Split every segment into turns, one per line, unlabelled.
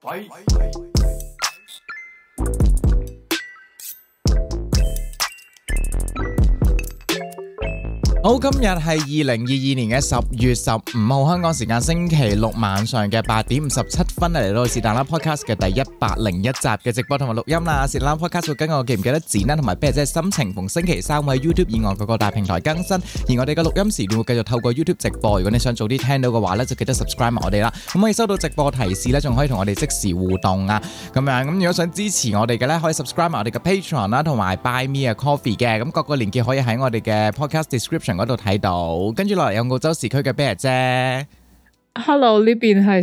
好，今日係2022年嘅10月15號，香港時間星期六晚上嘅8點57分嚟到是但啦 Podcast 嘅第101集嘅直播同埋錄音啦。是但啦 Podcast 會跟我記唔記得剪啦，同埋啤姐心情逢星期三喺 YouTube 以外各個大平台更新。而我哋嘅錄音時段會繼續透過 YouTube 直播。如果你想早啲聽到嘅話咧，就記得 subscribe 埋我哋啦。咁可以收到直播提示咧，仲可以同我哋即時互動啊。咁樣咁如果想支持我哋嘅咧，可以 subscribe 埋我哋嘅 Patreon 啦，同埋 Buy Me a Coffee 嘅。咁各個連結可以喺我哋嘅 Podcast description嗰度睇到，跟住落嚟有澳洲時區嘅啤爺姐。
Hello， 呢邊係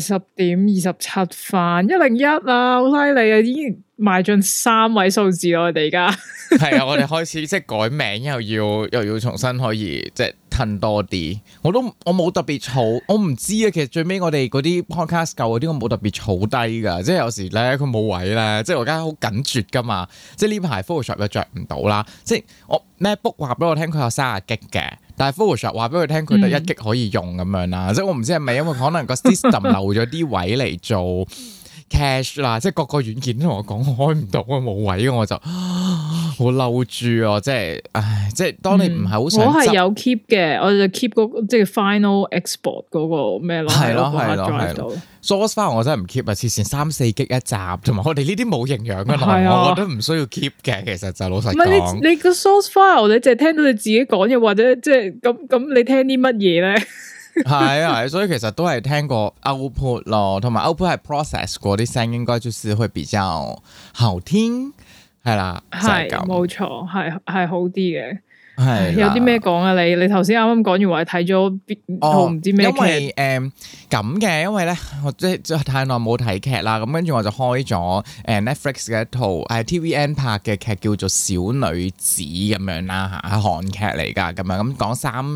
10:27分101啊，好犀利啊，已經邁進3位數字咯，我哋而家
係啊，我哋開始即係改名，又要重新可以即係褪多啲。我冇特別儲，我唔知啊。其實最尾我哋嗰啲 podcast 舊嗰啲，我冇特別儲低噶。即係有時咧佢冇位咧，即係我而家好緊絕噶嘛。即係呢排 Photoshop 又着唔到啦。即係我 MacBook 話俾我聽佢有30GB嘅，但係 Photoshop 話俾佢聽佢得1GB可以用咁樣啦。即係我唔知係咪因為可能個 system 留咗啲位嚟做 cache 啦，即係各個軟件都同我講開唔到啊，冇位，我就好嬲住啊！即係，唉，即係當你唔係好想，
我係有 keep 嘅，我就 keep 嗰個即係 final export 嗰個咩咯，
係咯。source file 我真係唔 keep 啊，黐線3-4GB一集，同埋我哋呢啲冇營養嘅內容，我覺得唔需要 keep 嘅。其實就老實講，唔
係你個 source file 你淨係聽到你自己講嘢，或者即係咁你聽啲乜嘢咧？
係啊，所以其實都係聽過 output 咯，同埋 output 係 process 過啲聲，應該就是會比較好聽，係啦，
係冇錯，係好啲嘅。
係
有啲咩講啊？你頭先啱啱講完話睇咗套唔知咩劇？
因為咁嘅，因為咧我即係太耐冇睇劇啦，咁跟住我就開咗Netflix 嘅一套TVN 拍嘅劇叫做《小女子》咁樣啦嚇，係韓劇嚟㗎，咁樣咁講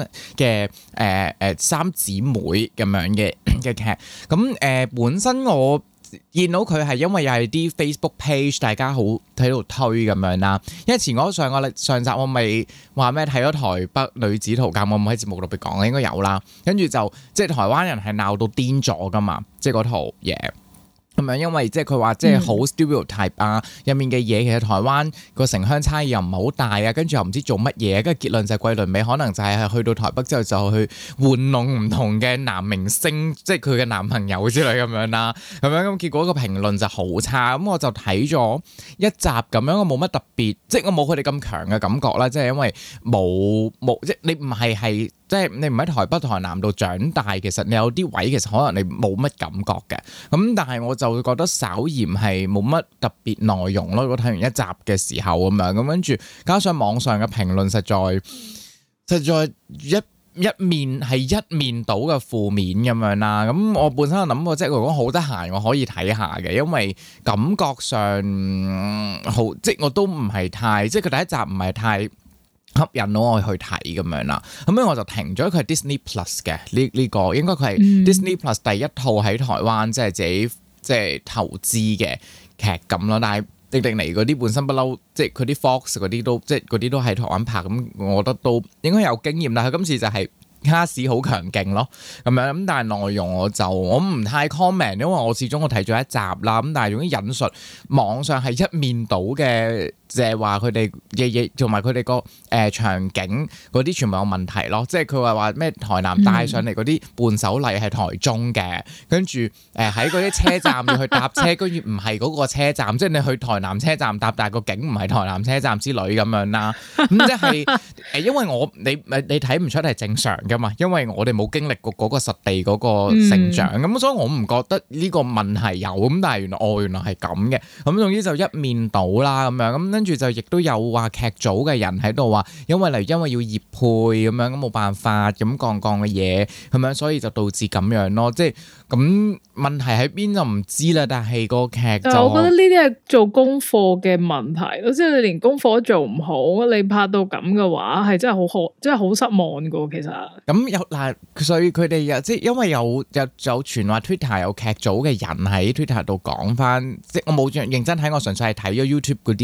三姊妹咁樣嘅劇，咁本身我見到佢係因為又係啲 Facebook page 大家好喺度推咁樣啦，因為上集我咪話咩睇咗台北女子圖鑑，我冇喺節目度邊講，應該有啦，跟住就即係台灣人係鬧到癲咗噶嘛，即係嗰套嘢。咁樣，因為即係佢話即係好 stereotype 啊，入面嘅嘢其實台灣個城鄉差異又唔係好大啊，跟住又唔知做乜嘢，跟住結論就係桂綸鎂可能就係去到台北之後就去玩弄唔同嘅男明星，即係佢嘅男朋友之類咁樣啦，咁樣咁結果個評論就好差，咁我就睇咗一集咁樣，我冇乜特別，即係我冇佢哋咁強嘅感覺啦，即係因為冇即係你唔係即係你唔喺台北台南度長大，其實你有啲位其實可能你冇乜感覺嘅，咁但係我就會覺得稍嫌係冇乜特別內容咯。如果睇完一集嘅時候咁樣，咁跟住加上網上嘅評論實在一面倒嘅負面咁樣啦。咁我本身有諗過，即係如果好得閒我可以睇下嘅，因為感覺上好即係我都唔係太即係佢第一集唔係太吸引到我去睇咁樣啦，咁樣我就停咗。佢係 Disney Plus 嘅呢個，應該佢係 Disney Plus 第一套喺台灣即係自己即係投資嘅劇咁咯。但係迪士尼嗰啲本身不嬲，即係佢啲 Fox 嗰啲都即係嗰啲都喺台灣拍，咁我覺得都應該有經驗。但係佢今次就係卡士好強勁咯，咁樣咁，但係內容我唔太 comment，因為我始終我睇咗一集啦。咁但係用啲引述網上係一面倒嘅，即係話佢哋嘅嘢同埋佢哋個場景嗰啲全部有問題咯。即係佢話咩台南帶上嚟嗰啲伴手禮係台中嘅，跟住喺嗰啲車站要去搭車，跟住唔係嗰個車站，即係你去台南車站搭，但係個景唔係台南車站之類咁樣啦。咁即係因為你睇唔出係正常嘅嘛，因為我哋冇經歷過嗰個實地嗰個成長，咁所以我唔覺得呢個問題有。咁但係原來係咁嘅。咁總之就一面倒啦咁樣。咁跟住就亦都有話劇組嘅人喺度話，因為要業配咁樣，咁冇辦法咁講嘅嘢咁樣，所以就導致咁樣咯。即係咁問題喺邊就唔知啦。但係個劇就
我覺得呢啲係做功課嘅問題咯。即係你連功課都做唔好，你拍到咁嘅話係真係好失望噶。其實
咁有嗱，所以佢哋又即係因為有傳話 Twitter 有劇組嘅人喺 Twitter 度講翻，即係我冇認真睇，我純粹係睇咗 YouTube 嗰啲有啲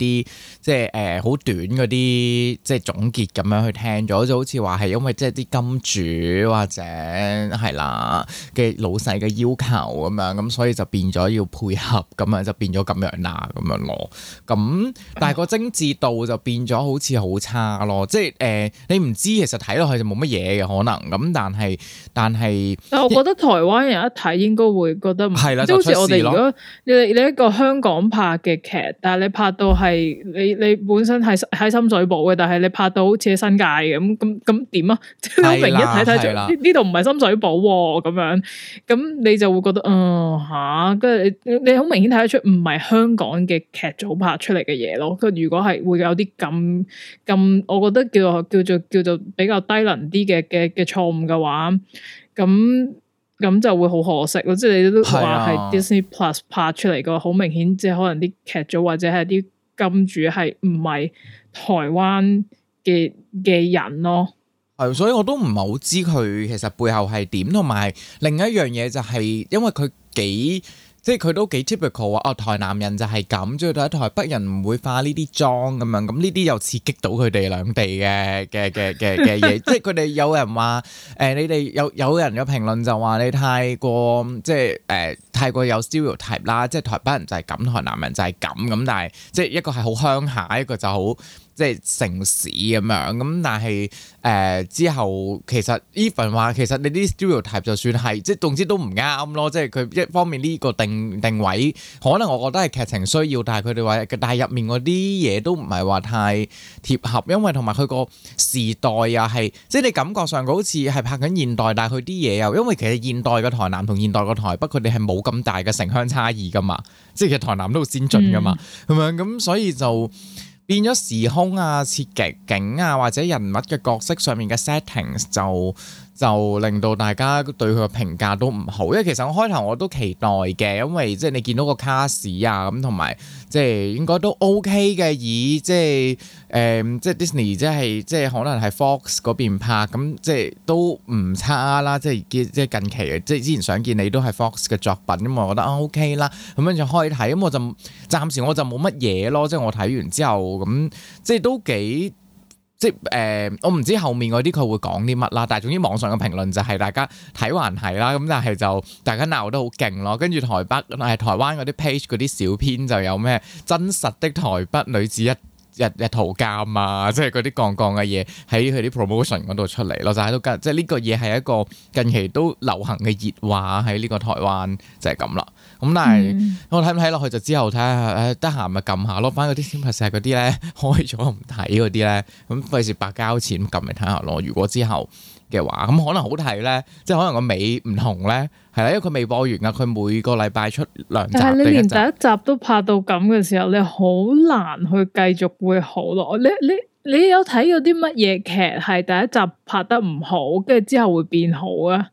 啲即係好短嗰啲即係總結咁樣去聽咗，就好似話係因為即係啲金主或者係啦嘅老細嘅要求咁樣，咁所以就變咗要配合咁樣，就變咗咁樣啦咁樣咯。咁但係個精緻度就變咗好似好差咯，即係你唔知其實睇落去就冇乜嘢嘅可能咁，但係
我覺得台灣人一睇應該會覺得唔係啦，即係好似我哋如果你一個香港拍嘅劇，但係你拍到係你本身係喺深水埗嘅，但係你拍到好似喺新界咁點啊？即係好明一睇就呢度唔係深水埗咁樣，咁你就會覺得跟住你好明顯睇得出唔係香港嘅劇組拍出嚟嘅嘢咯。佢如果係會有啲咁，我覺得叫做比較低能啲嘅錯誤嘅話，咁就會好可惜咯。即係你都話係 Disney Plus 拍出嚟嘅，好明顯即係可能啲劇組或者係啲金主係唔係台灣嘅人咯。
係，所以我都唔係好知佢其實背後係點，同埋另一樣嘢就係因為佢即係佢都幾 typical 啊！台南人就係咁，最到台北人唔會化呢啲妝咁樣，咁呢啲又刺激到佢哋兩地嘅嘢。即係佢哋有人話你哋有人有評論就話你太過即係太過有 stereotype 啦，即係台北人就係咁，台南人就係咁，但係即係一個係好鄉下，一個就好即係城市咁樣，咁但係之後其實 even 話其實你啲 stereotype 就算係即係總之都唔啱咯，即係佢一方面呢個定位可能我覺得係劇情需要，但係佢哋話但係入面嗰啲嘢都唔係話太貼合，因為同埋佢個時代又係即係你感覺上佢好似係拍緊現代，但係佢啲嘢又因為其實現代嘅台南同現代嘅台北佢哋係冇咁大嘅城鄉差異噶嘛，即係其實台南都好先進噶嘛，係咪咁所以就變咗時空啊、設景啊或者人物嘅角色上面嘅 settings 就令到大家對佢嘅評價都唔好，因為其實我開頭我都期待嘅，因為即係你見到個卡士啊咁，同埋即係應該都 OK 嘅，以即係即係 Disney 即係可能係 Fox 嗰邊拍咁，即係都唔差啦，即係近期嘅，即係之前想見你都係 Fox 嘅作品咁，我覺得OK 啦，咁樣就開睇，咁我就暫時我就冇乜嘢咯，即係我睇完之後咁，即係都幾。即係我唔知後面嗰啲佢會講啲乜啦，但係總之網上嘅評論就係大家睇還係啦，咁但係就大家鬧得好勁咯。跟住台灣嗰啲 page 嗰啲小編就有咩真實的台北女子日圖鑑啊，即係嗰啲槓嘅嘢喺佢啲 promotion 嗰度出嚟咯，就喺度即係呢個嘢係一個近期都流行嘅熱話喺呢個台灣就係咁啦。咁但係我睇唔睇落去就之後睇下，得閒咪撳下咯，翻嗰啲天拍石嗰啲咧開咗唔睇嗰啲咧，咁費事白交錢撳嚟睇下咯。如果之後嘅話，咁可能好睇咧，即係可能個尾唔同咧，係啦，因為佢未播完噶，佢每個禮拜出2集。但係你連第一集都拍到咁嘅時候，你好難去繼續會好咯。你有睇過啲乜嘢劇係第一集拍得唔好，跟住之後會變好啊？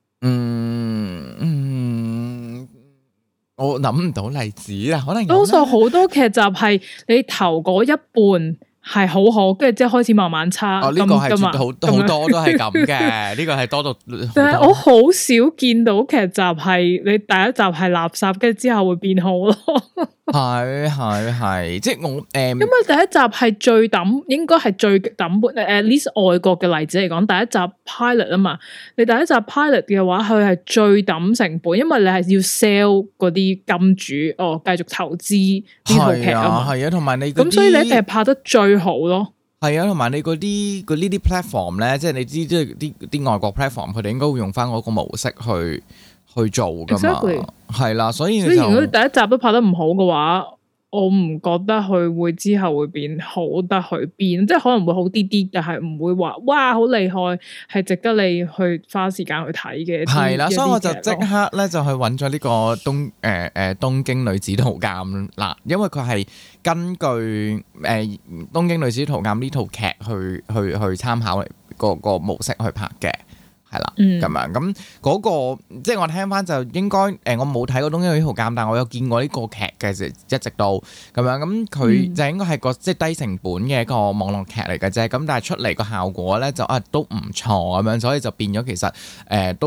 我諗唔到例子啦，可能多數好多劇集係你頭嗰一半係好好，跟住之後開始慢慢差。呢個係絕對好多都係咁嘅，呢個係多到。但係我好少見到劇集係你第一集係垃圾，跟住之後會變好咯。係，即係我因為第一集係最抌，應該係最抌本。at least 外國嘅例子嚟講，第一集 pilot 啊嘛，你第一集 pilot 嘅話，佢係最抌成本，因為你係要 sell 嗰啲金主繼續投資呢套劇啊嘛。係啊，同埋你咁，所以你一定係拍得最好咯。係啊，同埋你嗰啲呢啲 platform 咧，即係你知即係啲外國 platform，佢哋應該會用翻嗰個模式去做噶嘛，係啦，所以如果第一集都拍得唔好嘅話，我唔覺得佢會之後會變好得去邊，即係可能會好啲啲，但係唔會話哇好厲害，係值得你去花時間去睇嘅。係啦，所以我就即刻咧就去揾咗呢個東京女子圖鑑啦，因為佢係根據東京女子圖鑑呢套劇去參考個模式去拍嘅。係啦，咁樣咁嗰個即係我聽翻就應該我冇睇過東京女子圖鑑，但我有見過呢個劇嘅，一直到咁樣咁佢就應該係個即係低成本嘅一個網絡劇嚟嘅啫，咁但係出嚟個效果咧就都唔錯咁樣，所以就變咗其實都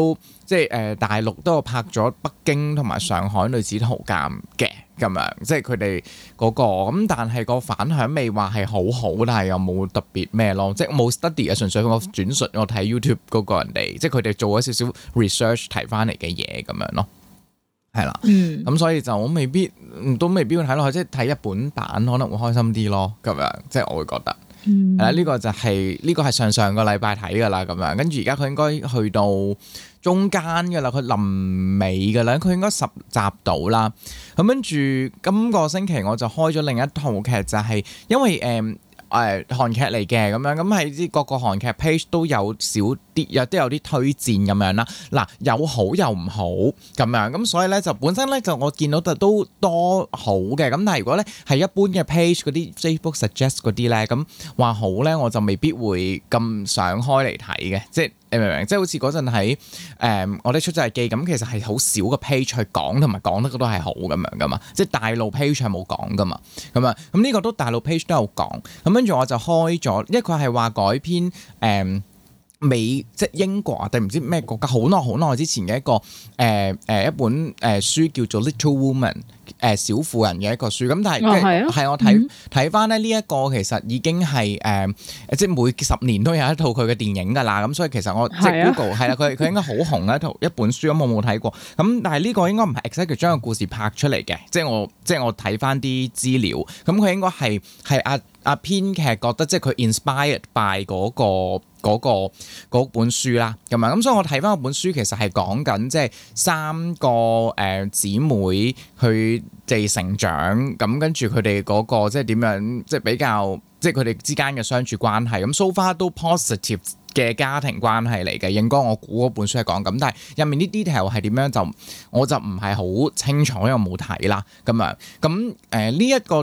即係大陸都有拍咗北京同埋上海女子圖鑑嘅咁樣，即係佢哋嗰個咁，但係個反響未話係好好，但係又冇特別咩咯，即係冇 study 啊，純粹我轉述我睇 YouTube 嗰個人哋，即係佢哋做咗少少 research 提翻嚟嘅嘢咁樣咯。係啦，咁所以就我都未必會睇落去，即係睇日本版可能會開心啲咯，咁樣即係我會覺得，係啦，呢個就係呢個係上個禮拜睇噶啦，咁樣跟住而家佢應該去到中間噶啦，佢臨尾噶啦，佢應該10集到啦，咁跟住今個星期我就開咗另一套劇，就係因為韓劇嚟嘅咁樣，咁喺啲各個韓劇 page 都有少啲，都有啲推薦咁樣啦。嗱，有好又唔好咁樣，咁所以咧就本身咧就我見到都多好嘅，咁但係如果咧係一般嘅 page 嗰啲 Facebook suggest 嗰啲咧，咁話好咧我就未必會咁想開嚟睇嘅，即係你明唔明？即係好似嗰陣喺我哋出咗日記咁，其實係好少個 page 去講，同埋講得都係好咁樣噶嘛，即係大陸 page 係冇講噶嘛，咁啊，咁呢個都大陸 page 都有講，咁跟住我就開咗，因為佢係話改編即係英國定唔知咩國家好耐之前嘅一個一本書叫做 Little Woman 小婦人嘅一個書，咁但係係我睇翻咧呢一個其實已經係即係每10年都有一套佢嘅電影㗎啦，咁所以其實我即係 Google 係啦，佢應該好紅嘅一本書，咁我冇睇過，咁但係呢個應該唔係 exactly 將個故事拍出嚟嘅，即係我睇翻啲資料，咁佢應該係阿編劇覺得即係佢 inspired by 嗰本書啦，咁樣咁所以我睇翻嗰本書其實係講緊即係3個姊妹佢哋成長，咁跟住佢哋嗰個即係點樣，即係比較即係佢哋之間嘅相處關係，咁 so far 都 positive 嘅家庭關係嚟嘅，應該我估嗰本書係講咁，但係入面啲 detail 係點樣我就唔係好清楚，因為冇睇啦咁樣。咁呢一個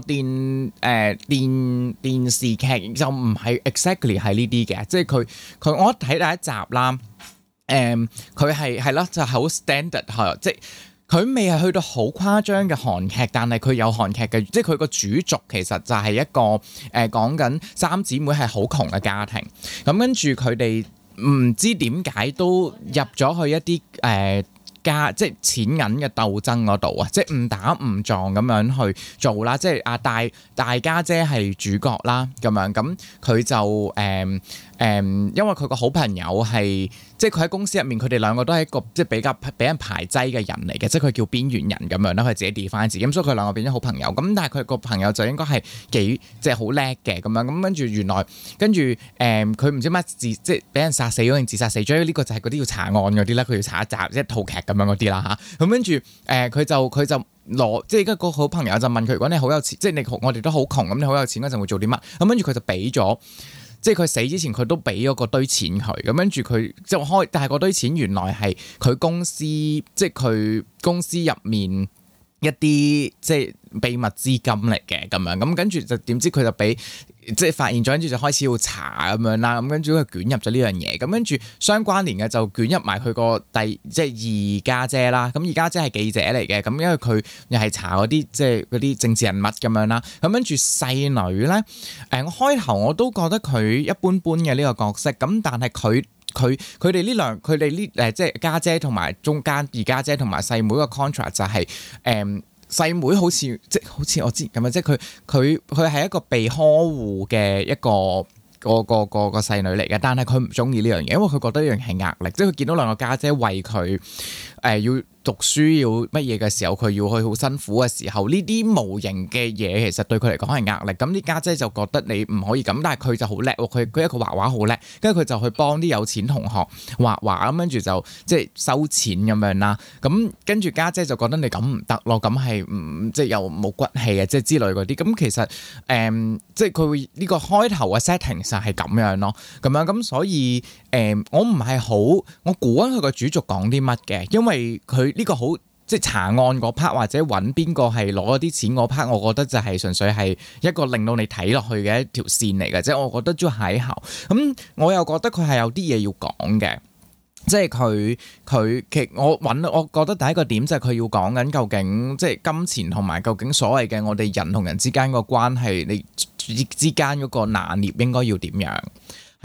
電視劇就唔係 exactly 係呢啲嘅，即係佢我睇第一集啦，佢係咯就係好 standard 係，即係佢未係去到好誇張嘅韓劇，但係佢有韓劇嘅，即係佢個主軸其實就係一個講緊3姊妹係好窮嘅家庭，咁跟住佢哋唔知點解都入咗去一啲即係錢銀嘅鬥爭嗰度啊，即係誤打誤撞咁樣去做啦，即係大家姐係主角啦，咁樣咁佢就因為佢個好朋友係即係佢喺公司入面，佢哋兩個都係一個即係比較俾人排擠嘅人嚟嘅，即係佢叫邊緣人咁樣啦，佢自己 define自己，咁所以佢兩個變咗好朋友。咁但係佢個朋友就應該係幾即係好叻嘅咁樣，咁跟住原來跟住佢唔知乜即係俾人殺死咗定自殺死咗，呢個就係嗰啲要查案嗰啲啦，佢要查一集即係套劇咁樣嗰啲啦嚇。咁跟住佢就攞即係而家個好朋友就問佢，如果你好有錢，即係我哋都好窮，咁你好有錢嗰陣會做啲乜？咁跟住佢就俾咗。即係佢死之前，佢都俾咗個堆錢佢，咁跟住佢就開，但係嗰堆錢原來係佢公司，即係佢公司入面一啲即係秘密資金嚟嘅咁樣，咁跟住就點知佢就俾即係發現咗，跟住就開始要查咁樣啦，咁跟住佢捲入咗呢樣嘢，咁跟住相關聯嘅就捲入埋佢個即係二家姐啦，咁二家姐係記者嚟嘅，咁因為佢又係查嗰啲即係嗰啲政治人物咁樣啦，咁跟住細女咧，我開頭我都覺得佢一般般嘅呢個角色，咁但係佢哋呢即係家姐同埋中間二家姐同埋細妹個 contract 就係細妹好似我知咁啊，即係佢係一個被呵護嘅一個細女嚟嘅，但係佢唔中意呢樣嘢，因為佢覺得呢樣係壓力，即係佢見到兩個家姐為佢要讀書要乜嘢嘅時候，佢要去好辛苦嘅時候，呢啲無形嘅嘢其實對佢嚟講係壓力。咁啲家姐就覺得你唔可以咁，但係佢就好叻喎，佢一個畫畫好叻，跟住佢就去幫啲有錢同學畫畫，咁跟住就即係收錢咁樣啦。咁跟住家姐就覺得你咁唔得咯，咁係即係又冇骨氣啊，即係之類嗰啲。咁其實即係佢會呢個開頭嘅 setting 就係咁樣咯，咁樣咁所以我唔係好我估緊佢個主軸講啲乜嘅，因為佢呢個好即係查案嗰 part 或者揾邊個係攞咗啲錢嗰 part，我覺得就係純粹係一個令到你睇落去嘅一條線嚟嘅，即係我覺得都係後咁，我又覺得佢係有啲嘢要講嘅，即係佢其實我覺得第一個點就係佢要講緊究竟即係金錢同埋究竟所謂嘅我哋人同人之間個關係，你之間嗰個拿捏應該要點樣？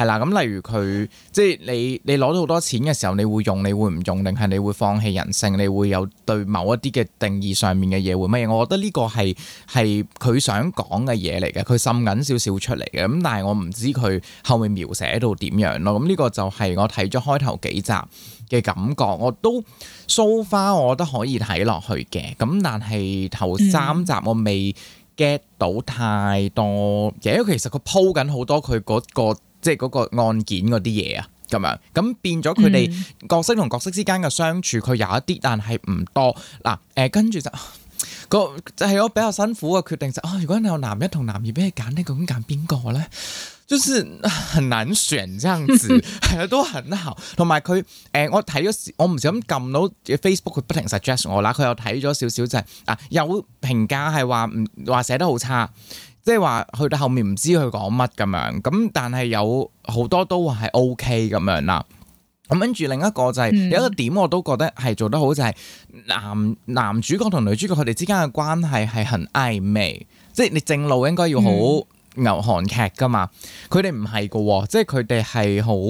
係啦，咁例如佢即係你攞到好多錢嘅時候，你會用，你會唔用，定係你會放棄人性？你會有對某一啲嘅定義上面嘅嘢會乜嘢？我覺得呢個係佢想講嘅嘢嚟嘅，佢滲緊少少出嚟嘅。咁但係我唔知佢後面描寫到點樣咯。咁呢個就係我睇咗開頭幾集嘅感覺，我都 so far 我覺得可以睇落去嘅。咁但係頭3集我未 get 到太多嘢，因為其實佢鋪緊好多佢嗰個。即係嗰個案件嗰啲嘢啊，咁樣咁變咗佢哋角色同角色之間嘅相處，佢有一啲，但係唔多嗱。跟住就係我比較辛苦嘅決定就如果你有男一同男二俾你揀，你究竟揀邊個咧？就是很難選，這樣子係啊，都很好。同埋佢我睇咗，我唔小心撳到 Facebook，佢不停 suggest 我啦。佢又睇咗少少就係有評價係話寫得好差。即係話去到後面唔知佢講乜咁樣，咁但係有好多都話係 OK 咁樣啦。咁跟住另一個就係有一個點我都覺得係做得好，就係男主角同女主角佢哋之間嘅關係係很曖昧，即係你正路應該要好牛韓劇噶嘛，佢哋唔係噶喎，即係佢哋係好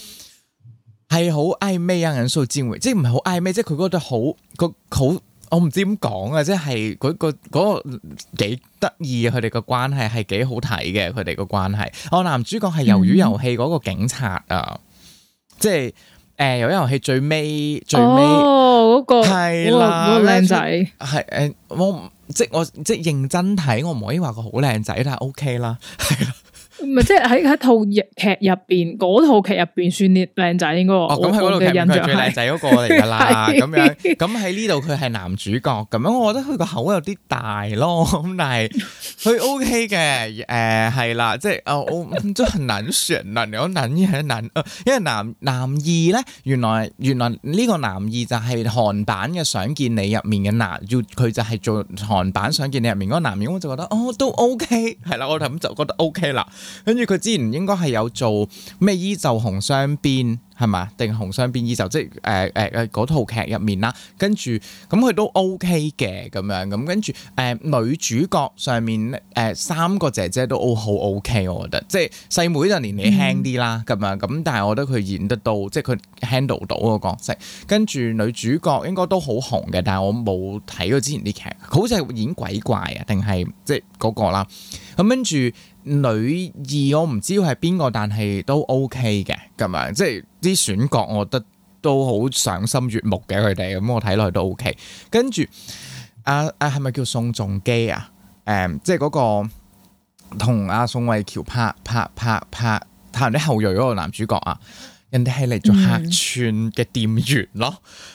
曖昧啊，人數戰回，即係唔係好曖昧，即係佢覺得好。我唔知點講啊，即係嗰個幾得意啊！佢哋個關係係幾好睇嘅，佢哋個關係。男主角係魷魚遊戲嗰個警察啊，即係魷魚遊戲最尾嗰個係啦，
嗰個靚仔
係我即係認真睇，我唔可以話佢好靚仔，但係 OK 啦，係啦。
唔係，即係喺套劇入邊，嗰套劇入邊算靚仔應該。
咁喺嗰套劇入邊佢最靚仔嗰個嚟噶啦，咁樣咁喺呢度佢係男主角咁樣，我覺得佢個口有啲大咯，咁但係佢 OK 嘅，係啦，即係我真係難選啦，有男一係男，因為男二咧，原來呢個男二就係韓版嘅想見你入面嘅佢就係做韓版想見你入面嗰個男二，我就覺得都 OK， 係啦，我咁就覺得 OK 啦。跟住佢之前應該係有做咩衣袖紅雙邊係嘛？定紅雙邊衣袖，即係嗰套劇入面啦。跟住咁佢都 OK 嘅咁樣，咁跟住女主角上面3個姐姐都好 OK， 我覺得即係細妹就年紀輕啲啦咁樣，咁但係我覺得佢演得到，即係佢 handle 到個角色。跟住女主角應該都好紅嘅，但係我冇睇過之前啲劇，好似係演鬼怪啊，定係即係嗰個啦。咁跟住女二我唔知係邊個，但係都 OK 嘅咁樣，即係啲選角我覺得都好賞心悅目嘅佢哋，咁我睇落去都 OK。跟住係咪叫宋仲基啊？即係嗰個同宋慧喬拍人哋後裔嗰個男主角啊，人哋係嚟做客串嘅店員咯。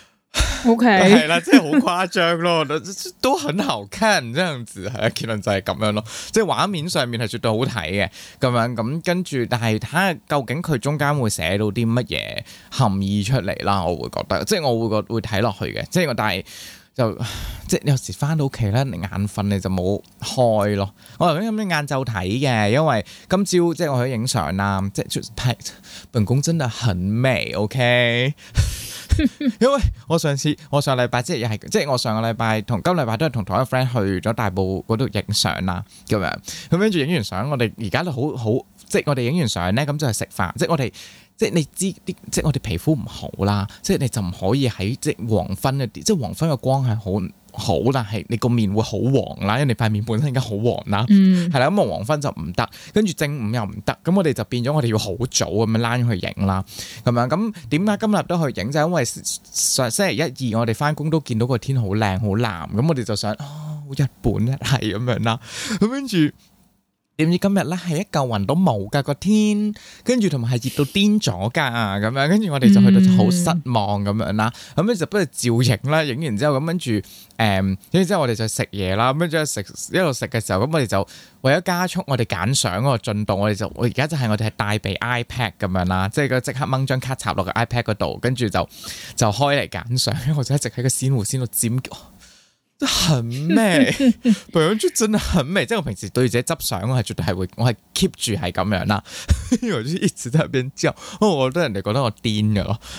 OK，
係啦，即係好誇張咯，都很好看，這樣子係結論就係咁樣咯，即係畫面上面係絕對好睇嘅咁樣，咁跟住，但係睇下究竟佢中間會寫到啲乜嘢含義出嚟啦，我會覺得，即係我會睇落去嘅，即係但係就即係有時翻到屋企咧，你眼瞓你就冇開咯。我頭先咁樣晏晝睇嘅，因為今朝即係我去影相啦，即係拍本宮真係很美，OK。因為我上禮拜即係我上個禮拜同今禮拜都係同一個 friend 去咗大埔嗰度影相啦，咁樣咁跟住影完相，我哋而家都好即係我哋影完相咧，咁就係食飯，即係我哋即係你知啲，即係我哋皮膚唔好啦，即係你就唔可以喺即係黃昏一啲，即係黃昏嘅光係好，但係你個面會好黃啦，因為你塊面本身而家好黃啦，係啦，咁啊黃昏就唔得，跟住正午又唔得，咁我哋就變咗我哋要好早咁樣躝去影啦，咁樣咁點解今日都去影就係因為星期一二我哋翻工都見到個天好靚好藍，咁我哋就想日本咧係咁樣啦，咁跟住。點知今日咧係一嚿雲都冇噶個天，跟住同埋係熱到癲咗噶咁樣，跟住我哋就去到就好失望咁樣啦。咁咧就不如照影啦，影完之後咁跟住跟住之後我哋就食嘢啦。咁跟住一路食嘅時候，咁我哋就為咗加速我哋揀相嗰個進度，我而家就係我哋係帶備 iPad 咁樣啦，即係佢即刻掹張卡插落個 iPad 嗰度，跟住就開嚟揀相。因為我就一直喺個鮮湖先度尖叫。都很美，本人就真的很美。即係我平時對自己執相，我係絕對係會，我係 keep 住係咁樣啦。因為我就一直喺入邊叫，我覺得人哋覺得我癲㗎咯。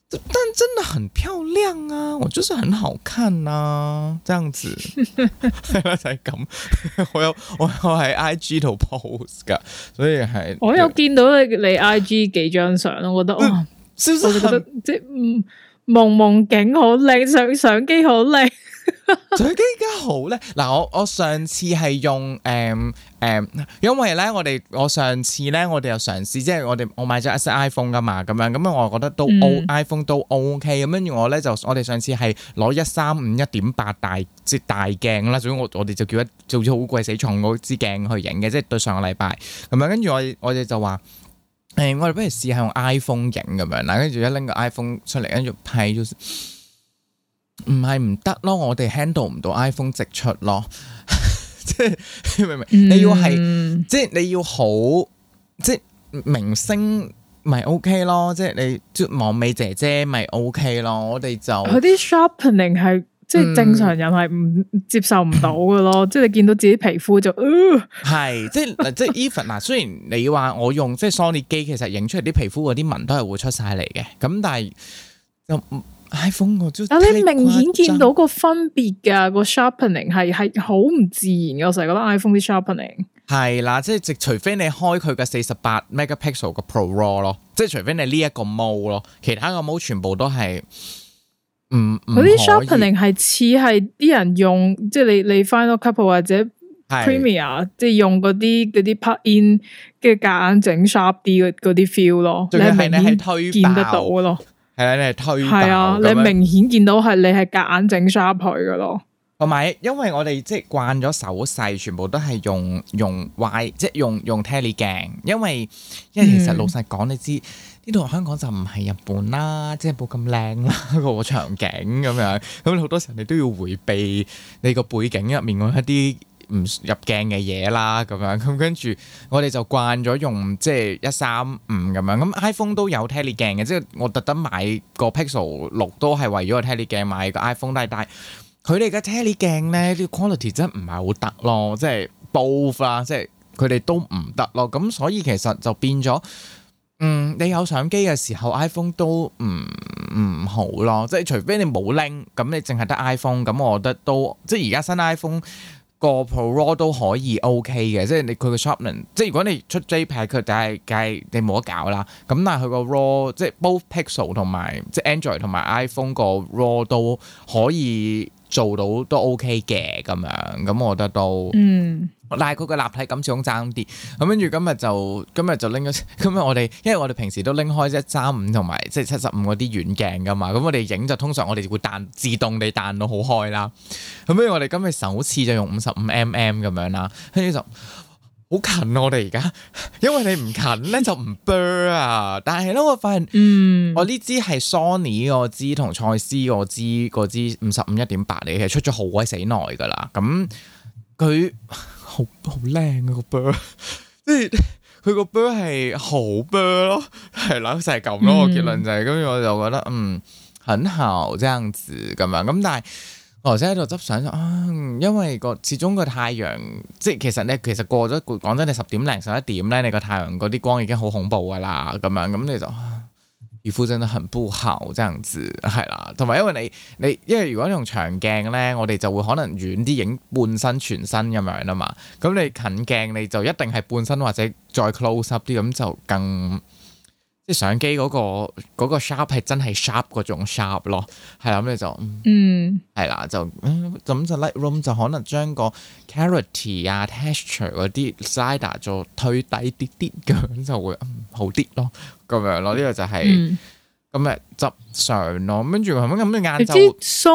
但真的很漂亮啊，我就是很好看啊，這樣子係啦就係咁。我有喺 IG 度 post 噶，所以係我
有見到你 IG 幾張相，我覺得哇，是不是我覺得即係夢境好靚，相機好靚。
相機而家好咧，嗱我上次係用因為咧我上次咧我哋又嘗試，即係我買咗一隻 iPhone 噶嘛，咁樣我覺得都 iPhone 都 OK，咁跟住我哋上次係攞135 1.8大鏡啦，總之我哋就叫咗好鬼死重嗰支鏡去影嘅，即係對上個禮拜咁樣，跟住我哋就話我哋不如試下用 iPhone 影咁樣啦，跟住一拎個 iPhone 出嚟跟住拍咗。唔係唔得咯，我哋 handle 唔到 iPhone 直出咯，即係明唔明？你要係即係你要好，即係明星咪 OK 咯，即係你即係網美姐姐咪 OK 咯，我哋就
佢啲 sharpening 係即係正常人係唔接受唔到嘅咯，即係你見到自己皮膚就
係即係 even 嗱，雖然你話我用即係 Sony 機，其實影出嚟啲皮膚嗰啲紋都係會出晒嚟嘅，咁但係就。iPhone 但
你明顯見到個分別㗎，個 sharpening 係好唔自然嘅，我成日覺得 iPhone 啲 sharpening
係啦，即係除非你開佢嘅48 megapixel 嘅 Pro RAW 咯，即係除非你呢一個 mode 咯，其他個 mode 全部都係嗰
啲 sharpening 係似係啲人用，即係你 Final Cut 或者 Premiere 即係用嗰啲 plug in 嘅夾硬整 sharp 啲嗰啲 feel 咯，你係明顯見得到嘅咯。
係啦，你係推爆
係啊，你明顯見到係你係夾硬整 sharp 佢噶咯。
同埋，因為我哋即係慣咗手勢，全部都係用 Y， 即係用 tele 鏡。因為其實老實講，你知呢度香港就唔係日本啦，即係冇咁靚啦個場景咁樣。咁好多時候你都要迴避你個背景入面嗰一啲唔入鏡嘅嘢啦，咁樣咁跟住我哋就慣咗用即係135咁樣，咁 iPhone 都有 tele 鏡嘅，即係我特登買個 Pixel 6都係為咗個 tele 鏡買個 iPhone，但係佢哋嘅 tele 鏡咧啲 quality 真係唔係好得咯，即係 both 啦，即係佢哋都唔得咯，咁所以其實就變咗，你有相機嘅時候 iPhone 都唔好咯，即係除非你冇拎，咁你淨係得 iPhone，咁我覺得都即係而家新 iPhone。個 Pro RAW 都可以 OK 嘅，即係你佢個 sharpening，即係如果你出 JPEG 佢梗係你冇得搞啦。咁但係佢個 RAW 即係 both Pixel 同埋即係 Android 同埋 iPhone 個 RAW 都可以做到都 OK 嘅咁樣，咁我覺得都但係佢個立體感始終爭啲。咁跟住今日就拎咗，今日我哋因為我哋平時都拎開135同埋即係75嗰啲遠鏡噶嘛，咁我哋影就通常我哋會自動地彈到好開啦。咁跟住我哋今日首次就用55mm咁樣啦，跟住就好近我哋而家，因為你唔近咧就唔 blur 啊。但係咧我發現，我呢支係 Sony 嗰支同蔡司嗰支55 1.8嚟嘅，出咗好鬼死耐噶啦。咁佢好靚啊個 blur，即係佢個 blur 係好 blur 咯，係啦就係咁咯。個結論就係，跟住我就覺得很好這樣子咁樣。咁但係我頭先喺度執相因為始終個太陽，即係其實過咗講真，你10點零11點咧，你個太陽嗰啲光已經好恐怖噶啦，咁樣咁你就皮膚真的很不好，這樣子係啦。同埋因為你因為如果你用長鏡咧，我哋就會可能遠啲影半身全身咁樣啊嘛。咁你近鏡你就一定係半身或者再 close up 啲，咁就更即係相機嗰個 sharp 係真係 sharp 嗰種 sharp 咯。係啦，咁你就係啦，就咁就 Lightroom 就可能將個 clarity 啊 texture 嗰啲 slider 做推低啲啲咁就會好啲咯。咁樣咯，呢個就係今日執相咯。跟住咁你晏晝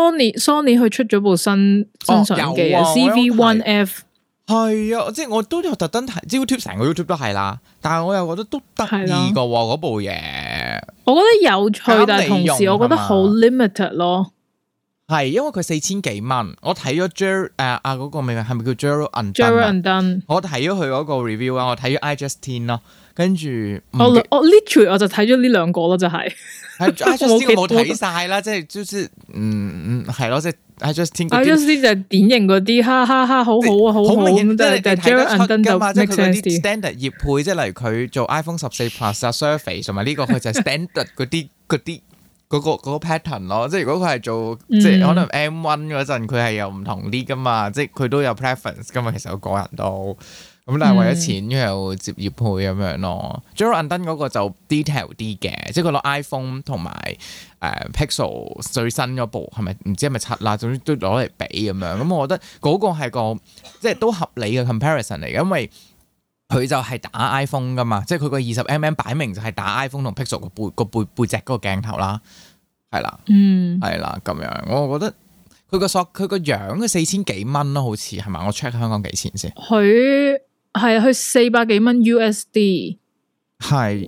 Sony 佢出咗部新相機啊 CV1F
係啊，即係我都有特登睇 YouTube， 成個 YouTube 都係啦。但係我又覺得都得意噶嗰部嘢，
我覺得有趣，但係同時我覺得好 limited 咯。
係因為佢4000幾蚊，我睇咗嗰個名係咪叫 Gerald
Undone？
我睇咗佢嗰個 review 啊，我睇咗 iJustine 咯，跟住
我 literally 我就睇咗呢兩個咯，就係
iJustine 我冇睇晒啦，即係就是係咯，即係 iJustine 就
係典型嗰啲哈哈哈好好啊，好好咁，即係 Gerald Undone 就 make sense 啲
standard 業配，即係例如佢做 iPhone 14 Plus 啊 Surface 同埋呢個佢就係 standard 嗰嗰個 pattern 咯，即係如果佢係做即係可能 M1 嗰陣，佢係有唔同啲噶嘛，即係佢都有 preference 噶嘛，其實我個人都咁，但係為咗錢又接業配咁樣咯。Gerald Undone 嗰個就 detail 啲嘅，即係佢攞 iPhone 同埋Pixel 最新嗰部係咪唔知係咪7啦，總之都攞嚟比咁樣。咁我覺得嗰個係個即係都合理嘅 comparison 嚟嘅，因為佢就係打 iPhone 噶嘛，即係佢個20mm擺明就係打 iPhone 同 Pixel 個背脊嗰個鏡頭啦，係啦，係啦咁樣。我覺得佢個樣嘅4000幾蚊咯，好似係咪？我 check 香港幾錢先？
佢400幾蚊 USD， 係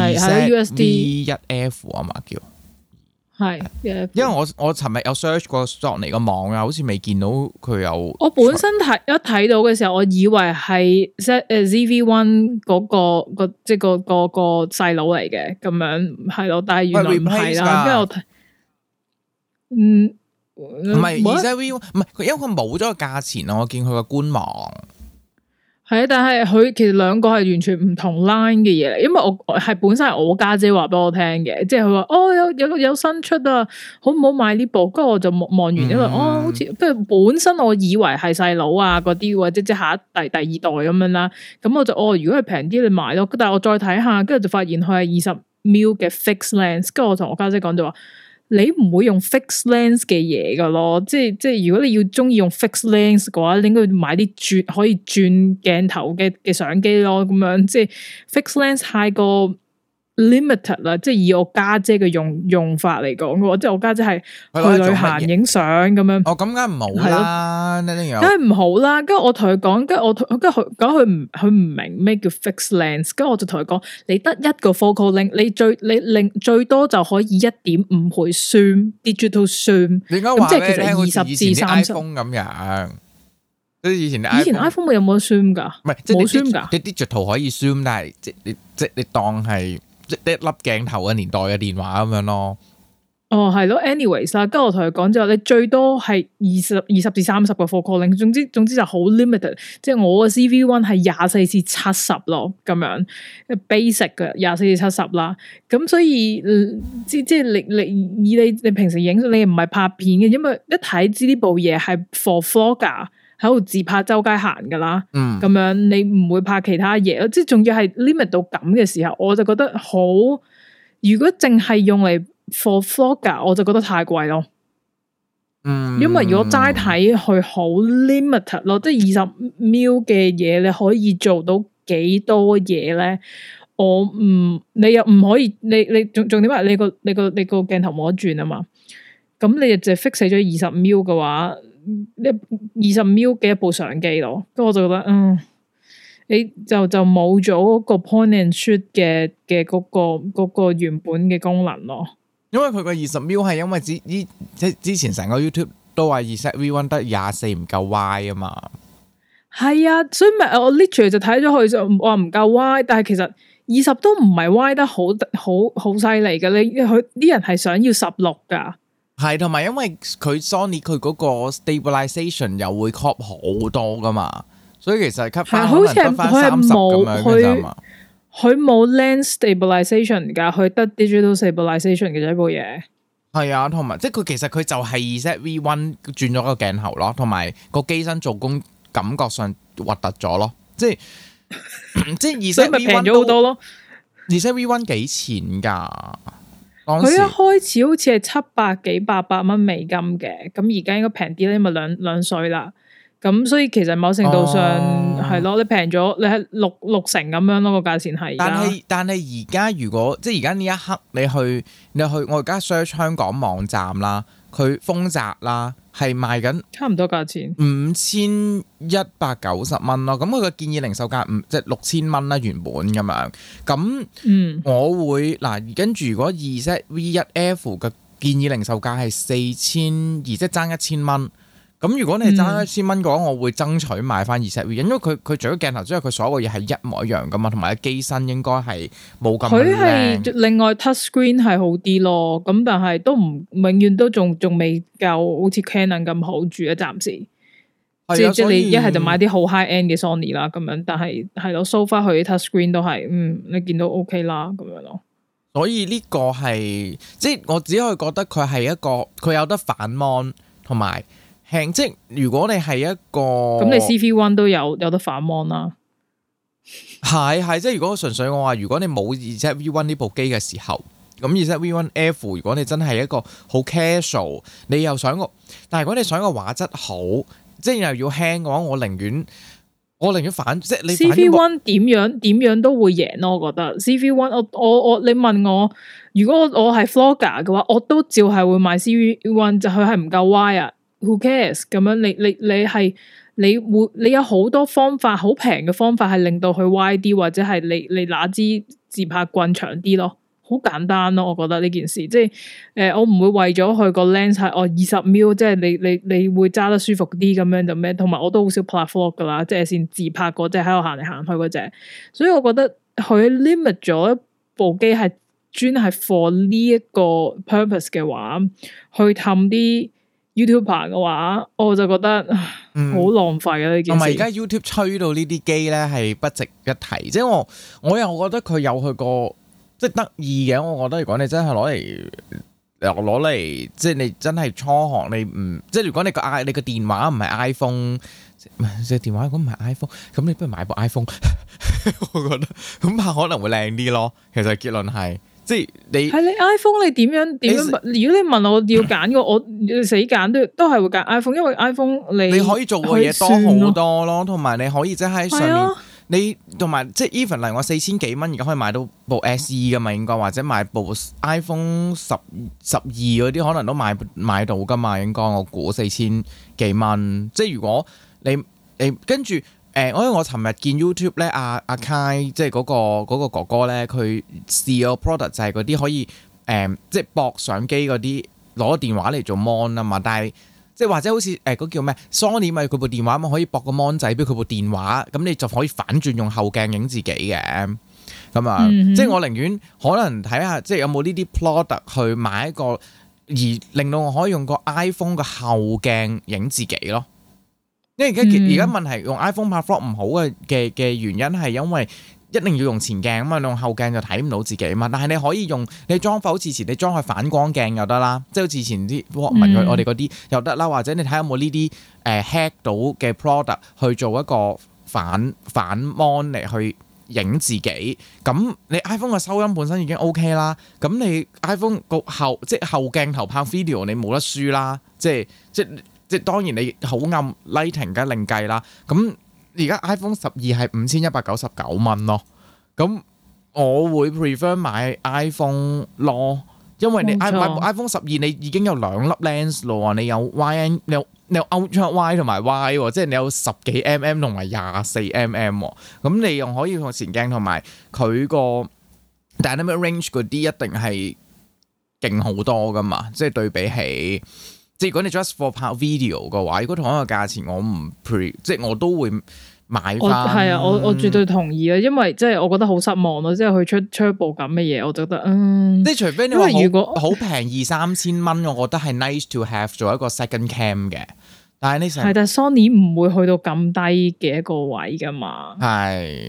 2ZV-1F 啊嘛叫。
係，
因為我尋日有 search 過索尼個網啊，好似未見到佢有。
我本身睇到嘅時候，我以為係ZV-1 嗰個即係個細佬嚟嘅咁樣，係咯，但係原來唔係啦。跟住我睇，
唔係 2ZV-1，唔係佢，因為佢冇咗個價錢啊，我見佢個官網。
係啊，但係佢其實兩個係完全唔同 line 嘅嘢嚟，因為我係本身係我家姐話俾我聽嘅，即係佢話有新出啊，好唔好買呢部？跟住我就望完，因為好似跟住本身我以為係細佬啊嗰啲，或者即係第二代咁樣啦，咁我就如果係平啲你買咯，但係我再睇下，跟住就發現佢係20mm嘅 fixed lens，跟住我同我家姐講就話。你唔會用 fixed lens 嘅嘢噶咯，即係如果你要中意用 fixed lens 嘅話，你應該買啲可以轉鏡頭嘅相機咯，咁樣即係 fixed lens 太過 limited 啦，即係以我家姐嘅用法嚟講嘅話，即係我家姐係去旅行影相咁樣。咁梗係唔好啦，梗係唔好啦。跟住我同佢講，跟住佢唔明咩叫 fixed lens，跟住我就同佢講，你得一個 focal length，你最多就可以1.5倍 zoom digital zoom。你應該話咧，聽好似以前啲 iPhone 咁樣，即係以前 iPhone 有冇 zoom 噶？唔係冇 zoom 噶，
啲 digital 可以 zoom，但係即你當係。即係一粒鏡頭嘅年代嘅電話咁樣咯。係咯 ，anyways 啦，跟住我同佢講之後，你最多係20至30個 focal length，總之就好 limited。即係我嘅 ZV-1 係24至70咯，咁樣 basic 嘅24至70啦。咁所以即係你平時影你唔係拍片嘅，因為一睇知呢部嘢係 for vlogger。喺度自拍周街行噶啦，咁樣你唔會拍其他嘢，即係仲要係 limit 到咁嘅時候，我就覺得好。如果淨係用嚟 for vlogger，我就覺得太貴咯。因為如果齋睇佢好 limited 咯，即係20mm嘅嘢，你可以做到幾多嘢咧？你又唔可以，你仲點啊？你個鏡頭冇得轉啊嘛？咁你就 fix 死咗20mm嘅話。20mm嘅一部相機咯，咁我就覺得，你就冇咗嗰個 point and shoot 嘅嗰個原本嘅功能咯。因為佢個20mm係因為之前成個 YouTube 都話2ZV-1得24唔夠 Y 啊嘛。係啊，所以咪我 literally 就睇咗佢就話唔夠 Y， 但係其實20都唔係 Y 得好犀利嘅，佢啲人係想要16噶。係，同埋因為佢 Sony 佢嗰個 stabilization 又會 crop 好多噶嘛，所以其實 cut 翻可能得翻30咁樣嘅啫嘛。佢冇 lens stabilization 噶，佢得 digital stabilization 嘅啫部嘢。係啊，同埋即係佢其實佢就係 2ZV-1 轉咗個鏡頭咯，同埋個機身做工感覺上核突咗咯，即係 2ZV-1 平咗好多咯。2ZV-1 幾錢噶？佢一開始好似係700幾800蚊美金嘅，咁而家應該平啲咧，因為兩歲啦。咁所以其實某程度上係咯，你平咗，你係六成咁樣咯，個價錢係。但係而家如果即係而家呢一刻你去，我而家 search 香港網站啦，佢豐澤啦係賣緊差唔多價錢5190蚊咯。咁佢個建議零售價即係6000蚊啦，原本咁樣。咁我會嗱跟住如果 2ZV-1F 嘅建議零售價係4200，即係爭1000蚊。咁如果你係爭1000蚊嘅話，我會爭取買翻 2ZV，因為佢除咗鏡頭之外，佢所有嘢係一模一樣噶嘛，同埋機身應該係冇咁靚。佢係另外 touch screen 係好啲咯，咁但係都唔永遠都仲未夠好似 Canon 咁好住啊，暫時。即係你一係就買啲好 high end 嘅 Sony 啦，咁樣，但係係咯 so far 佢啲 touch screen 都係你見到 OK 啦，咁樣咯。 所以呢個係即係我只可以覺得佢係一個佢有得反 mon 同埋輕，即係如果你係一個咁
你 CV1 都有得反 mon 啦。
係即係如果純粹我話，如果你冇 ZV-1 呢部機嘅時候，咁 ZV-1F 如果你真係一個好 casual， 你又想個，但係如果你想個畫質好，即係又要輕嘅話，我寧願反，即係你
CV1 點樣都會贏咯。我覺得 CV1 我你問我，如果我係 Vlogger 嘅話，我都照係會買 CV1，就佢係唔夠 wire who cares 咁樣你有好多方法，好平嘅方法係令到佢歪啲，或者係你拿支自拍棍長啲咯，好簡單咯。我覺得呢件事即係我唔會為咗佢個 lens 係20mm，即係你會揸得舒服啲咁樣就咩，同埋我都好少拍 vlog 噶啦，即係先自拍嗰隻喺度行嚟行去嗰隻，所以我覺得佢 limit 咗一部機係專係 for 呢一個 purpose 嘅話，去氹啲YouTuber 嘅話，我就覺得好浪費啊呢件事。同埋而家 YouTube 吹到呢啲機咧係不值一提，即係我又覺得佢有佢個即係得意嘅。我覺得如果你真係攞嚟，即係你真係初學，你唔即係如果你個電話唔係 iPhone， 即係電話如果唔係 iPhone， 咁你不如買部 iPhone， 我覺得咁拍可能會靚啲咯。其實結論係。即係你 iPhone 你點樣？如果你問我要揀個，我死揀都係會揀 iPhone， 因為 iPhone 你可以做嘅嘢多好多咯，同埋你可以即係喺上面，你同埋即係 even 嚟我4000幾蚊而家可以買到部 SE 噶嘛，應該或者買部 iPhone 12嗰啲可能都買到噶嘛，應該我估4000幾蚊。即係如果你跟住。因為我尋日見 YouTube 咧，阿 Kai 即係嗰個哥哥咧，佢試個 product 就係嗰啲可以即係駁相機嗰啲攞電話嚟做 mon 啊嘛，但係即係或者好似嗰叫咩 Sony 咪佢部電話嘛，可以駁個 mon 仔俾佢部電話，咁你就可以反轉用後鏡影自己嘅咁啊，即係我寧願可能睇下即係有冇呢啲 product 去買一個，而令到我可以用個 iPhone 嘅後鏡影自己咯。因為而家問題用 iPhone 拍 vlog 唔好嘅原因係因為一定要用前鏡啊嘛，用後鏡就睇唔到自己啊嘛。但係你可以用你裝好似前你裝去反光鏡又得啦，即係好似前啲 Walkman 我哋嗰啲又得啦，或者你睇下有冇呢啲hack 到嘅 product 去做一個反 mon 嚟去影自己。咁你 iPhone 嘅收音本身已經 OK 啦，咁你 iPhone 個後鏡頭拍 video 你冇得輸啦，即係當然你好暗 lighting 梗係另計啦。咁而家 iPhone 12係5199蚊咯。咁我會 prefer 買 iPhone 咯，因為你買 iPhone 12你已經有2粒 lens 咯，你有 YN 你有 Ultra Wide 同埋 Wide， 即係你有10幾 mm 同埋24 mm。咁你又可以用前鏡同埋佢個 dynamic range 嗰啲一定係勁好多噶嘛，即係對比起。即係如果你 just for 拍 video 嘅話，如果同一個價錢，我唔即係我都會買翻。係啊，我絕對同意啊，因為即係我覺得好失望咯，即係佢出一部咁嘅嘢，我就覺得即係除非你話好平2-3千蚊，我覺得係 nice to have 做一個 second cam 嘅。但係Sony 唔會去到咁低嘅一個位噶嘛。係，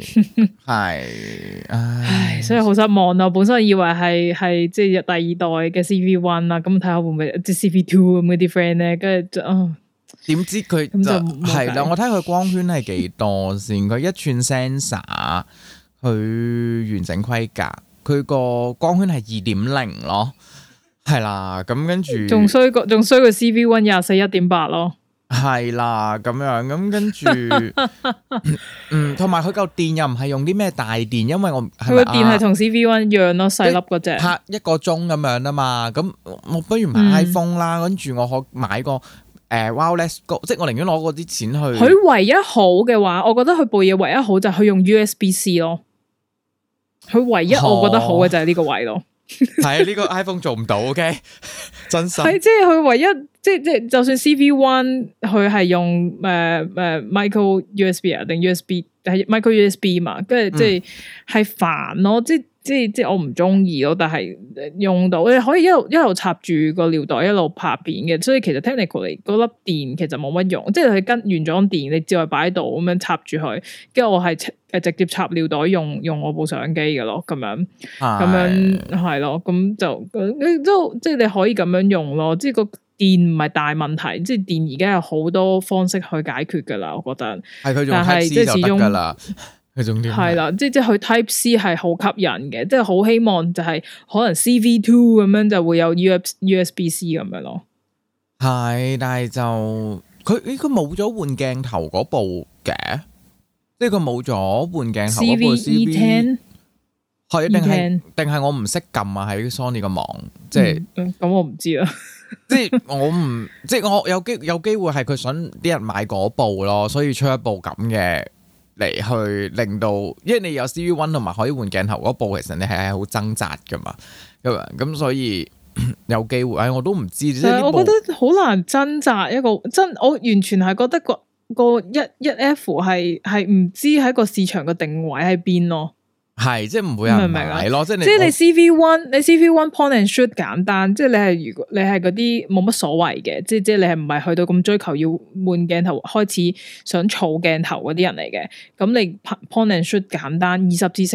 唉，所以好失望啊！本身以為係即係第二代嘅 CV1 啦，咁睇下會唔會即係 CV2 咁嗰啲 friend 咧，跟住點知佢就係啦。我睇佢光圈係幾多先？佢1寸 sensor，佢完整規格，佢個光圈係2.0咯，係啦。咁跟住仲衰過 CV1 24.1.8咯。係啦，咁樣咁跟住，同埋佢嚿電又唔係用啲咩大電，因為佢個電係同 CV1 一樣咯，細粒嗰隻，拍1個鐘咁樣啊嘛。咁我不如買 iPhone 啦，跟住我可買個wireless Go， 即係我寧願攞嗰啲錢去。佢唯一好嘅話，我覺得佢部嘢唯一好就係佢用 USB-C 咯。佢唯一我覺得好嘅就係呢個位咯。係啊，呢個 iPhone 做唔到 ，OK， 真心係即係佢唯一。 即就算 CV1 佢係用micro USB 啊定 USB 係 micro USB 嘛，跟住即係煩咯，即我唔中意咯，但係用到你可以一路插住個尿袋一路拍片嘅，所以其實 technically 嗰粒電其實冇乜用，即係佢跟原裝電你照係擺喺度咁樣插住佢，跟住我係直接插尿袋用我部相機嘅咯，咁樣係咯，咁就即係你可以咁樣用咯，即係個電唔係大問題，即係電而家有好多方式去解決噶啦，我覺得係佢用 Type C 就得噶啦。係啦，即係佢 Type C 係好吸引嘅，即係好希望就係可能 CV2 咁樣就會有 USB-C 咁樣咯。
係，但係就佢冇咗換鏡頭嗰部嘅，即係佢冇咗換鏡頭嗰部 CV10 係定係我唔識撳啊？喺 Sony 個網，即係
咁我唔知啦。
即係我有機會係佢想啲人買嗰部咯，所以出一部咁嘅。嚟去令到，因為你有 CV1 同埋可以換鏡頭嗰部，其實你係好掙扎噶嘛，咁所以有機會，我都唔知。即係
我覺得好難掙扎一個我完全係覺得個一 F 係唔知喺個市場嘅定位喺邊咯。
係，即係唔會有人買咯，即係
你 CV1 point and shoot 簡單，即係如果你係嗰啲冇乜所謂嘅，即係你係唔係去到咁追求要換鏡頭，開始想儲鏡頭嗰啲人嚟嘅，咁你 point and shoot 簡單，20至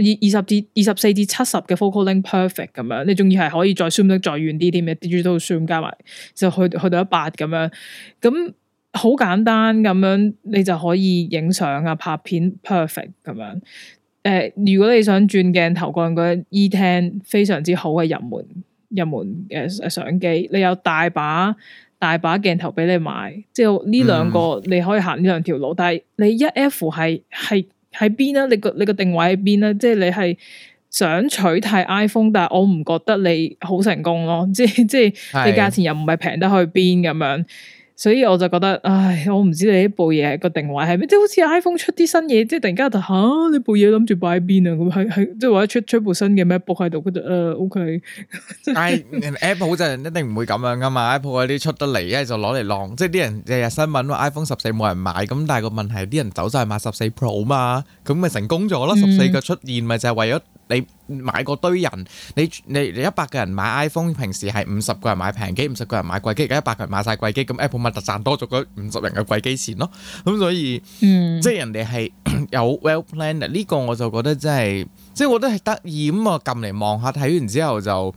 40、24至70嘅 focal length perfect 咁樣，你仲要係可以再 zoom 得再遠啲添嘅 digital zoom 加埋就去到100咁樣，咁好簡單咁樣，你就可以影相啊拍片 perfect 咁樣。如果你想轉鏡頭，個人覺得 E10 非常之好嘅入門嘅相機，你有大把鏡頭俾你買，即係呢兩個你可以行呢兩條路。但係你一 F 係喺邊啊？你個定位喺邊啊？即係你係想取替 iPhone， 但係我唔覺得你好成功咯。即係你價錢又唔係平得去邊咁樣。所以我就覺得，唉，我唔知你呢部嘢個定位係咩，即係好似 iPhone 出啲新嘢，即係突然間就你部嘢諗住擺喺邊啊？咁係即係或者出部新嘅 MacBook 喺度，覺得OK。
但係 Apple 就一定唔會咁樣噶嘛 ，Apple 嗰啲出得嚟，一係就攞嚟晾，即係啲人日日新聞話 iPhone 14冇人買，咁但係個問題啲人走晒買14 Pro 嘛，咁咪成功咗咯。14嘅出現咪就係為咗你買個堆人，你100個人買 iPhone， 平時係50個人買平機，50個人買貴機，而家100個人買晒貴機，咁 Apple 咪就賺多咗嗰50人嘅貴機錢咯。咁所以，即係人哋係有 well planned，呢個我就覺得真係，即係我覺得係得意咁啊！撳嚟望下，睇完之後就，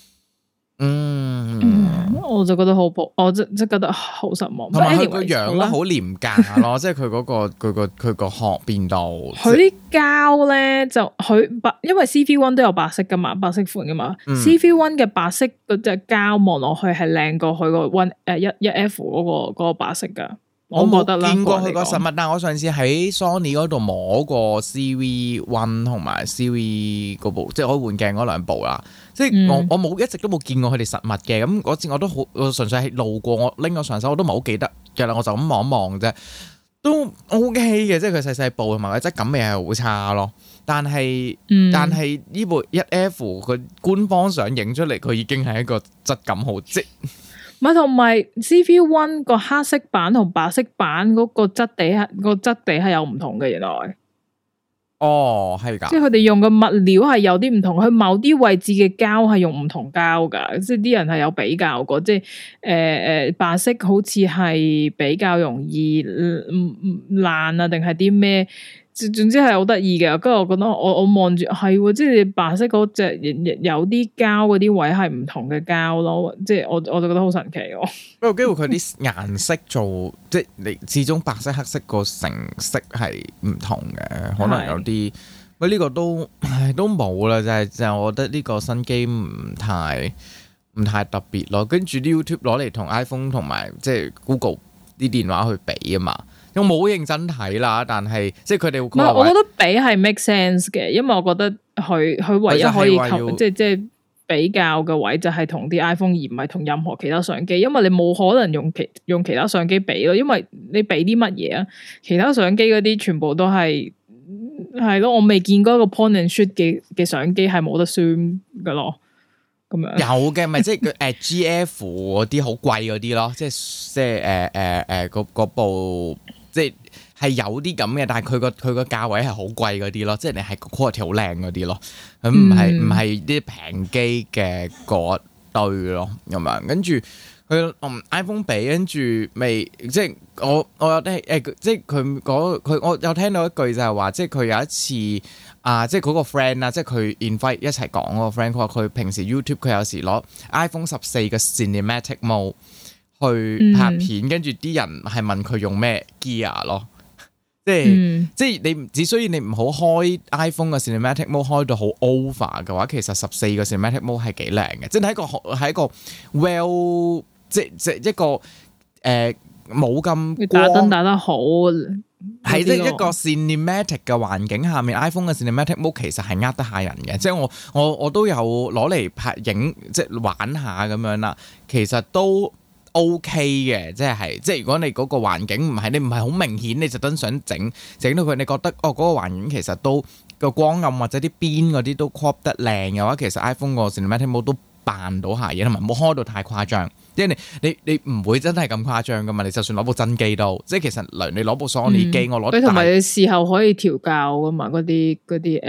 我就覺得好我即覺得好失望。
同埋佢個樣咧好廉價咯，即係佢嗰佢個殼變到。
佢啲膠咧就因為 CV1 都有白色噶嘛，白色款噶嘛。CV1 嘅白色嗰隻膠望落去係靚過佢個一 F 嗰個白色噶。我冇見過佢個實物，
但係我上次喺 Sony 嗰度摸過 CV1 同埋 CV 嗰部，即係可以換鏡嗰兩部啦。即係我冇一直都冇見過佢哋實物嘅。咁嗰次我都好，我純粹係路過，我拎咗上手，我都唔係好記得嘅啦。我就咁望一望啫，都 OK 嘅。即係佢細細部同埋個質感味係好差咯。但係呢部 1F 佢官方相影出嚟，佢已經係一個質感好即。
唔係，同埋 CV1 個黑色版同白色版嗰個質地係有唔同嘅，原來。
哦，係㗎。即係
佢哋用嘅物料係有啲唔同，佢某啲位置嘅膠係用唔同膠㗎，即係啲人係有比較過，即係白色好似係比較容易爛啊，定係啲咩？總之係好得意嘅，跟住我覺得我望住係，即係白色嗰隻有啲膠嗰啲位係唔同嘅膠咯，即係我就覺得好神奇喎。
不過機會佢啲顏色做，即係你始終白色黑色個成色係唔同嘅，可能有啲喂呢個都冇啦，就係我覺得呢個新機唔太特別咯。跟住啲 YouTube 攞嚟同 iPhone 同埋即係 Google 啲電話去比啊嘛。我冇認真睇啦，但係即係佢哋會講話，
我覺得比係 make sense 嘅，因為我覺得佢唯一可以即係比較嘅位就係同啲 iPhone 而唔係同任何其他相機，因為你冇可能用其他相機比咯，因為你比啲乜嘢啊？其他相機嗰啲全部都係咯，我未見過一個 point and shoot 嘅相機係冇得 zoom 噶咯。 咁樣。
有嘅，咪即係GF 嗰啲好貴嗰啲咯，即係嗰部即係有啲咁嘅，但係佢個價位係好貴嗰啲咯，即係你係 quality 好靚嗰啲咯，咁唔係啲平機嘅嗰堆咯咁樣，跟住。佢iPhone 比跟住未，即係我有聽即係佢我有聽到一句就係話，即係佢有一次即係嗰個 friend 啦，即係佢 invite 一齊講嗰個 friend，佢話佢平時 YouTube 佢有時攞 iPhone 14嘅 Cinematic Mode 去拍片，跟住啲人係問佢用咩 gear 咯，即係你只需要你唔好開 iPhone 嘅 Cinematic Mode 開到好 over 嘅話，其實14個 Cinematic Mode 係幾靚嘅，即係喺一個 well。即一個冇咁
打燈打得好，
係即係一個 cinematic 嘅環境下面 ，iPhone 嘅 cinematic mode 其實係呃得下人嘅。即係我都有攞嚟拍影，即係玩下咁樣啦。其實都 OK 嘅，即係如果你嗰個環境唔係好明顯，你就真想整到佢，你覺得嗰個環境其實都個光暗或者啲邊嗰啲都 crop 得靚嘅話，其實 iPhone 個 cinematic mode 都扮到下嘢，同埋冇開到太誇張。即係你唔會真係咁誇張噶嘛？你就算攞部真機都，即係其實你攞部 Sony 機，我攞
同埋你事後可以調校噶嘛？嗰啲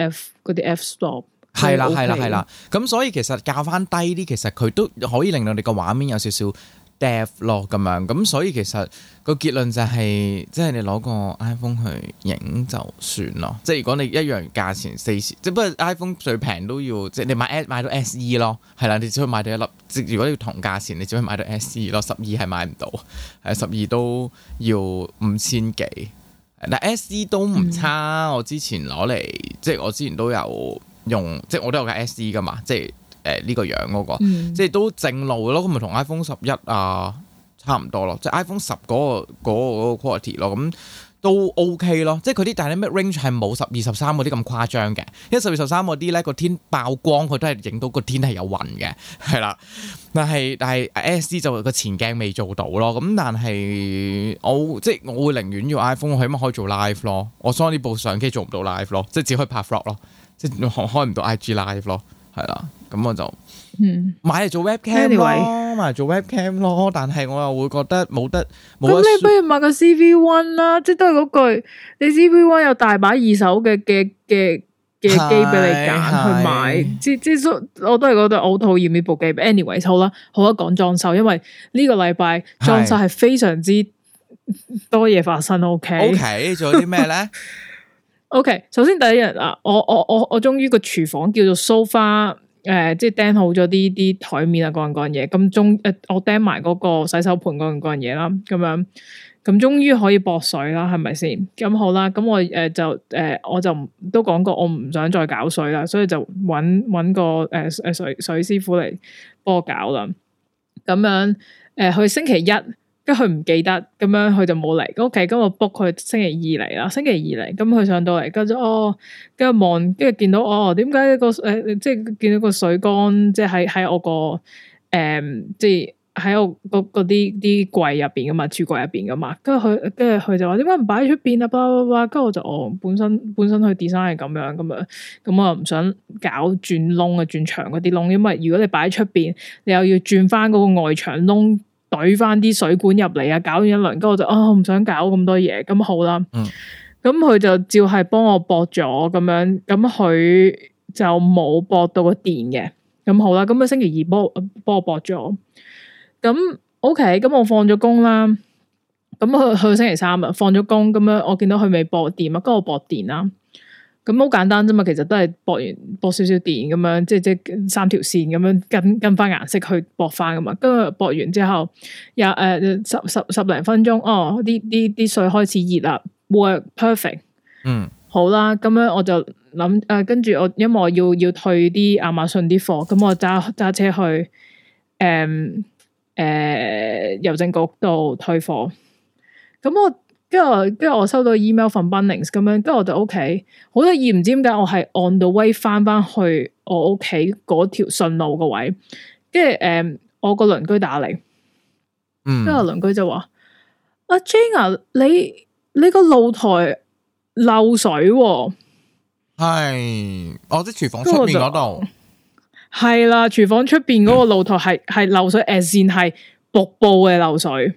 f stop
係啦，咁所以其實校翻低啲，其實佢都可以令到你個畫面有少少 depth 咯咁樣。咁所以其實個結論就係，即係你攞個 iPhone 去影就算咯。即係如果你一樣價錢40，即係不過 iPhone 最平都要，即係你買到 SE 咯，係啦，你只可以買到一粒。即如果你要同價錢，你只可以買到 SE 咯，12係買唔到，係12都要5000幾。但 SE 都唔差，我之前攞嚟，即係我之前都有用，即係我都有架 SE 噶嘛，即係。呢個樣嗰個，即係都正路咯，咁咪同 iPhone 11差唔多咯，即係 iPhone 10嗰個 quality 咯，咁都 OK 咯，即係佢啲 dynamic range 係冇12、13嗰啲咁誇張嘅，因為12、13嗰啲咧個天爆光，佢都係影到個天係有雲嘅，係啦，但係 SE 就個前鏡未做到咯，咁但係我會寧願要 iPhone，我起碼可以做 live 咯，我 Sony 部相機做唔到 live 咯，即係只可以拍 vlog 咯，即係開唔到 IG live 咯。係啦，咁我就買嚟做 webcam 咯，買嚟做 webcam 咯。但係我又會覺得冇得。咁
你不如買個 CV1 啦，即係都係嗰句，你 CV1 有大把二手嘅機俾你揀去買。即我都係覺得好討厭呢部機。anyway 好啦，好啦，講裝修，因為呢個禮拜裝修係非常之多嘢發生。OK， 仲有啲咩咧？OK， 首先第一日啊，我終於個廚房叫做 sofa， 即係釘好咗啲台面啊，嗰樣嘢，咁我釘埋嗰個洗手盤嗰樣嘢啦，咁樣，咁終於可以駁水啦，係咪先？咁好啦，咁我我就都講過，我唔想再搞水啦，所以就搵個水師傅嚟幫我搞啦，咁樣去星期一。跟住佢唔記得，咁樣佢就冇嚟。OK，咁我 book 佢星期二嚟啦。星期二嚟，咁佢上到嚟，跟住跟住望，跟住見到點解個即係見到個水缸，即係喺我個即係喺我嗰啲櫃入邊噶嘛，櫥櫃入邊噶嘛。跟住佢就話點解唔擺喺出邊啊？巴拉巴拉。跟住我就本身佢 design 係咁樣，咁我唔想搞轉窿啊，轉牆嗰啲窿，因為如果你擺喺出邊，你又要轉翻嗰個外牆窿。懟翻啲水管入嚟啊！搞完一輪，跟住我就唔想搞咁多嘢，咁好啦。咁佢就照係幫我駁咗咁樣，咁佢就冇駁到個電嘅。咁好啦，咁佢星期二幫我駁咗。咁 OK，咁我放咗工啦。咁去星期三啊，放咗工咁樣，我見到佢未駁電啊，跟住我駁電啦。咁好簡單啫嘛，其實都係駁少少電咁樣，即係3條線咁樣跟翻顏色去駁翻噶嘛。跟住駁完之後，有十零分鐘，啲水開始熱啦 ，work perfect。好啦，咁樣我就諗跟住我因為我要退啲亞馬遜啲貨，咁我揸車去郵政局度退貨。咁我。跟住我收到 email from Bunnings 咁樣，跟住我就 OK， 好得意，唔知點解我係 on the way 翻去我屋企嗰條順路個位，跟住我個鄰居打嚟，跟住鄰居就話：阿 Jane 啊，你個露台漏水喎，
係，即係廚房出面嗰度，
係啦，廚房出邊嗰個露台係漏水，as in係瀑布嘅漏水。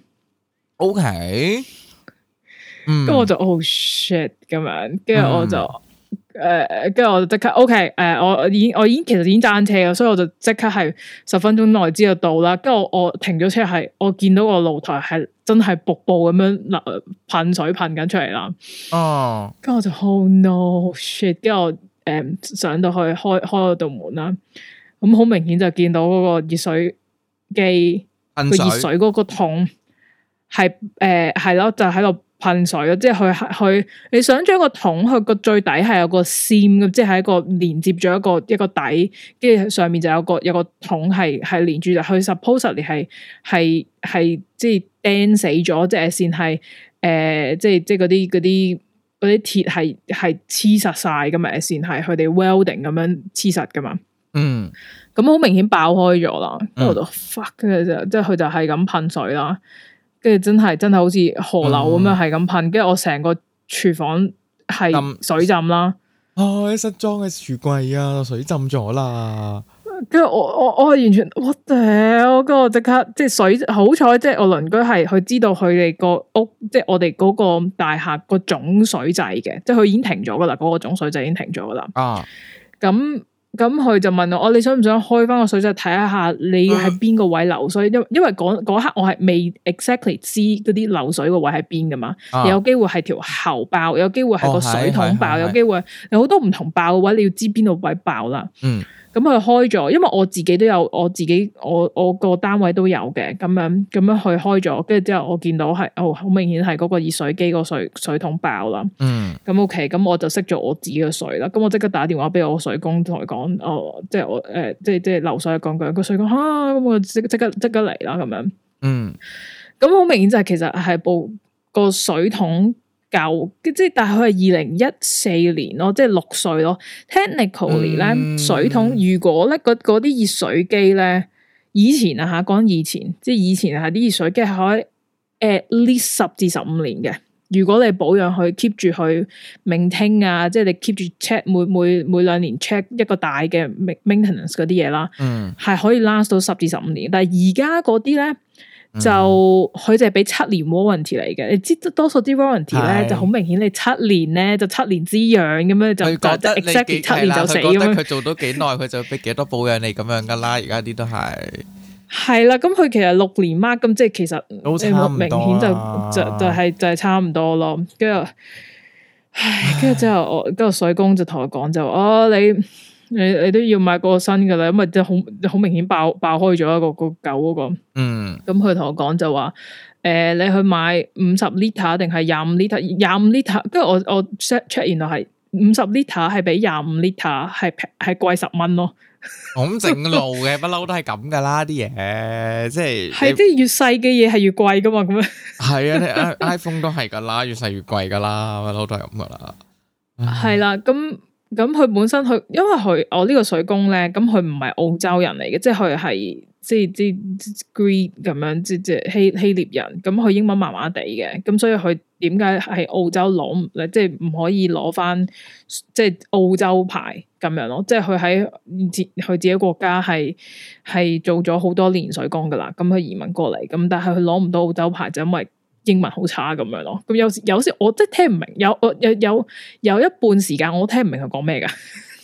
OK，
跟住我就oh shit 咁樣，跟住我就跟住我就即刻 OK， 我已經其實已經揸車嘅，所以我就即刻係10分鐘內之後到啦。跟住我停咗車，係我見到個露台係真係瀑布咁樣噴水噴緊出嚟啦。哦，跟住我就oh no shit， 跟住我上到去開嗰道門啦。咁好明顯就見到嗰個熱水機個熱水嗰個桶係係咯，就喺度噴水咯。即係佢你想將個桶佢個最底係有個線咁，即係一個連接咗一個底，跟住上面就有個桶係連住，就佢 supposedly 係即係釘死咗，即係線係即係嗰啲鐵係黐實晒噶嘛，線係佢哋 welding 咁樣黐實噶嘛。嗯，咁好明顯爆開咗啦，跟住我就 fuck， 跟住就即係佢就係咁噴水啦，跟住真係好似河流咁樣係咁噴，跟住我成個廚房係水浸啦。
新裝嘅櫥櫃啊，水浸咗啦。
跟住我完全我屌，跟住我即刻即係水，好彩即係我鄰居係佢知道佢哋個屋，即係我哋嗰個大廈個總水掣嘅，即係佢已經停咗噶啦，嗰個總水掣已經停咗噶啦。咁佢就問我，你想唔想開翻個水掣睇下你喺邊個位流水？因為嗰刻我係未 exactly 知嗰啲流水個位喺邊噶嘛，有機會係條喉爆，有機會係個水桶爆，有機會有好多唔同爆嘅位，你要知邊度位爆啦。咁佢開咗，因為我自己都有，我個單位都有嘅，咁樣去開咗，跟住之後我見到係好明顯係嗰個熱水機個水桶爆啦。咁 OK，咁我就熄咗我自己嘅水啦。咁我即刻打電話俾我水工同佢講，即係我即係流水講句，個水工咁我即刻嚟啦咁樣。咁好明顯就係其實係個水桶舊，即係但係佢係2014年咯，即係6歲咯。Technically 咧，水桶如果咧嗰啲熱水機咧，以前啊吓，講以前，即係以前係啲熱水機係可以 at least 10至15年嘅。如果你保養佢 keep 住去 maintain 啊，即係你 keep 住 check 每2年 check 一個大嘅 maintenance 嗰啲嘢啦，係可以 last 到10至15年。但係而家嗰啲咧。就佢就係俾7年 warranty 嚟嘅，你知多數啲 warranty 咧就好明顯，你7年咧就7年之癢咁樣就 exactly 7年就死咁樣。
佢做到幾耐，佢就俾幾多保養你咁樣噶啦。而家啲都係
啦，咁佢其實6年 mark 咁，即係其實明顯就係差唔多咯。跟住之後我個水工就同我講就你都要買個新噶啦，因為即係好明顯爆開咗一個舊嗰個。咁佢同我講就話，你去買50 litre 定係25 litre？25 litre，跟住我 check 原來係50 litre 係比25 litre 係貴10蚊咯。
咁正路嘅，不嬲都係咁噶啦啲嘢，即係
即係越細嘅嘢係越貴噶嘛，咁樣。係
啊，你 iPhone 都係噶啦，越細越貴噶啦，不嬲都係咁噶啦。
係啦，咁佢本身因為我呢個水工咧，咁佢唔係澳洲人嚟嘅，即係佢係即係 Greek 咁樣，即係希臘人，咁佢英文麻麻地嘅，咁所以佢點解喺澳洲攞即係唔可以攞翻即係澳洲牌咁樣咯？即係佢喺佢自己國家係做咗好多年水工噶啦，咁佢移民過嚟，咁但係佢攞唔到澳洲牌就因為英文好差咁樣咯，咁有時我即係聽唔明，有一半時間我聽唔明佢講咩噶。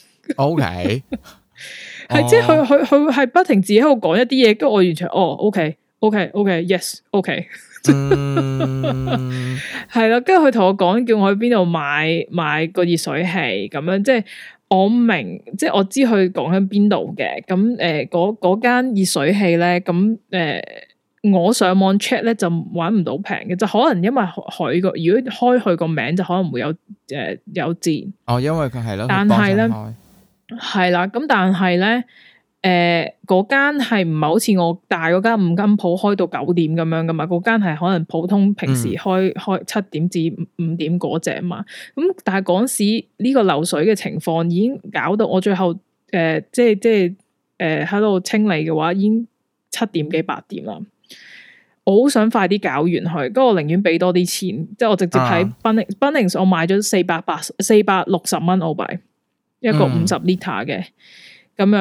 OK，
係即係佢係不停自己喺度講一啲嘢，跟住我完全OK，yes，OK，係啦，跟住佢同我講叫我去邊度買個熱水器咁樣，即係我明，即係我知佢講緊邊度嘅，咁嗰間熱水器咧，咁我上網 check 咧就揾唔到平嘅，就可能因為佢如果開佢個名就可能會有折。
因為佢係咯，
但係咧係啦，咁但係咧嗰間係唔係好似我大嗰間5金鋪開到9點咁樣噶嘛？嗰間係可能普通平時開7點至5點嗰隻嘛。咁但係嗰時呢個漏水嘅情況已經搞到我最後即係喺度清理嘅話已經7點幾8點啦。我好想快啲搞完佢，咁我寧願俾多啲錢，即係我直接喺 Bunnings 我買咗460蚊澳幣一個50 litre 嘅，咁樣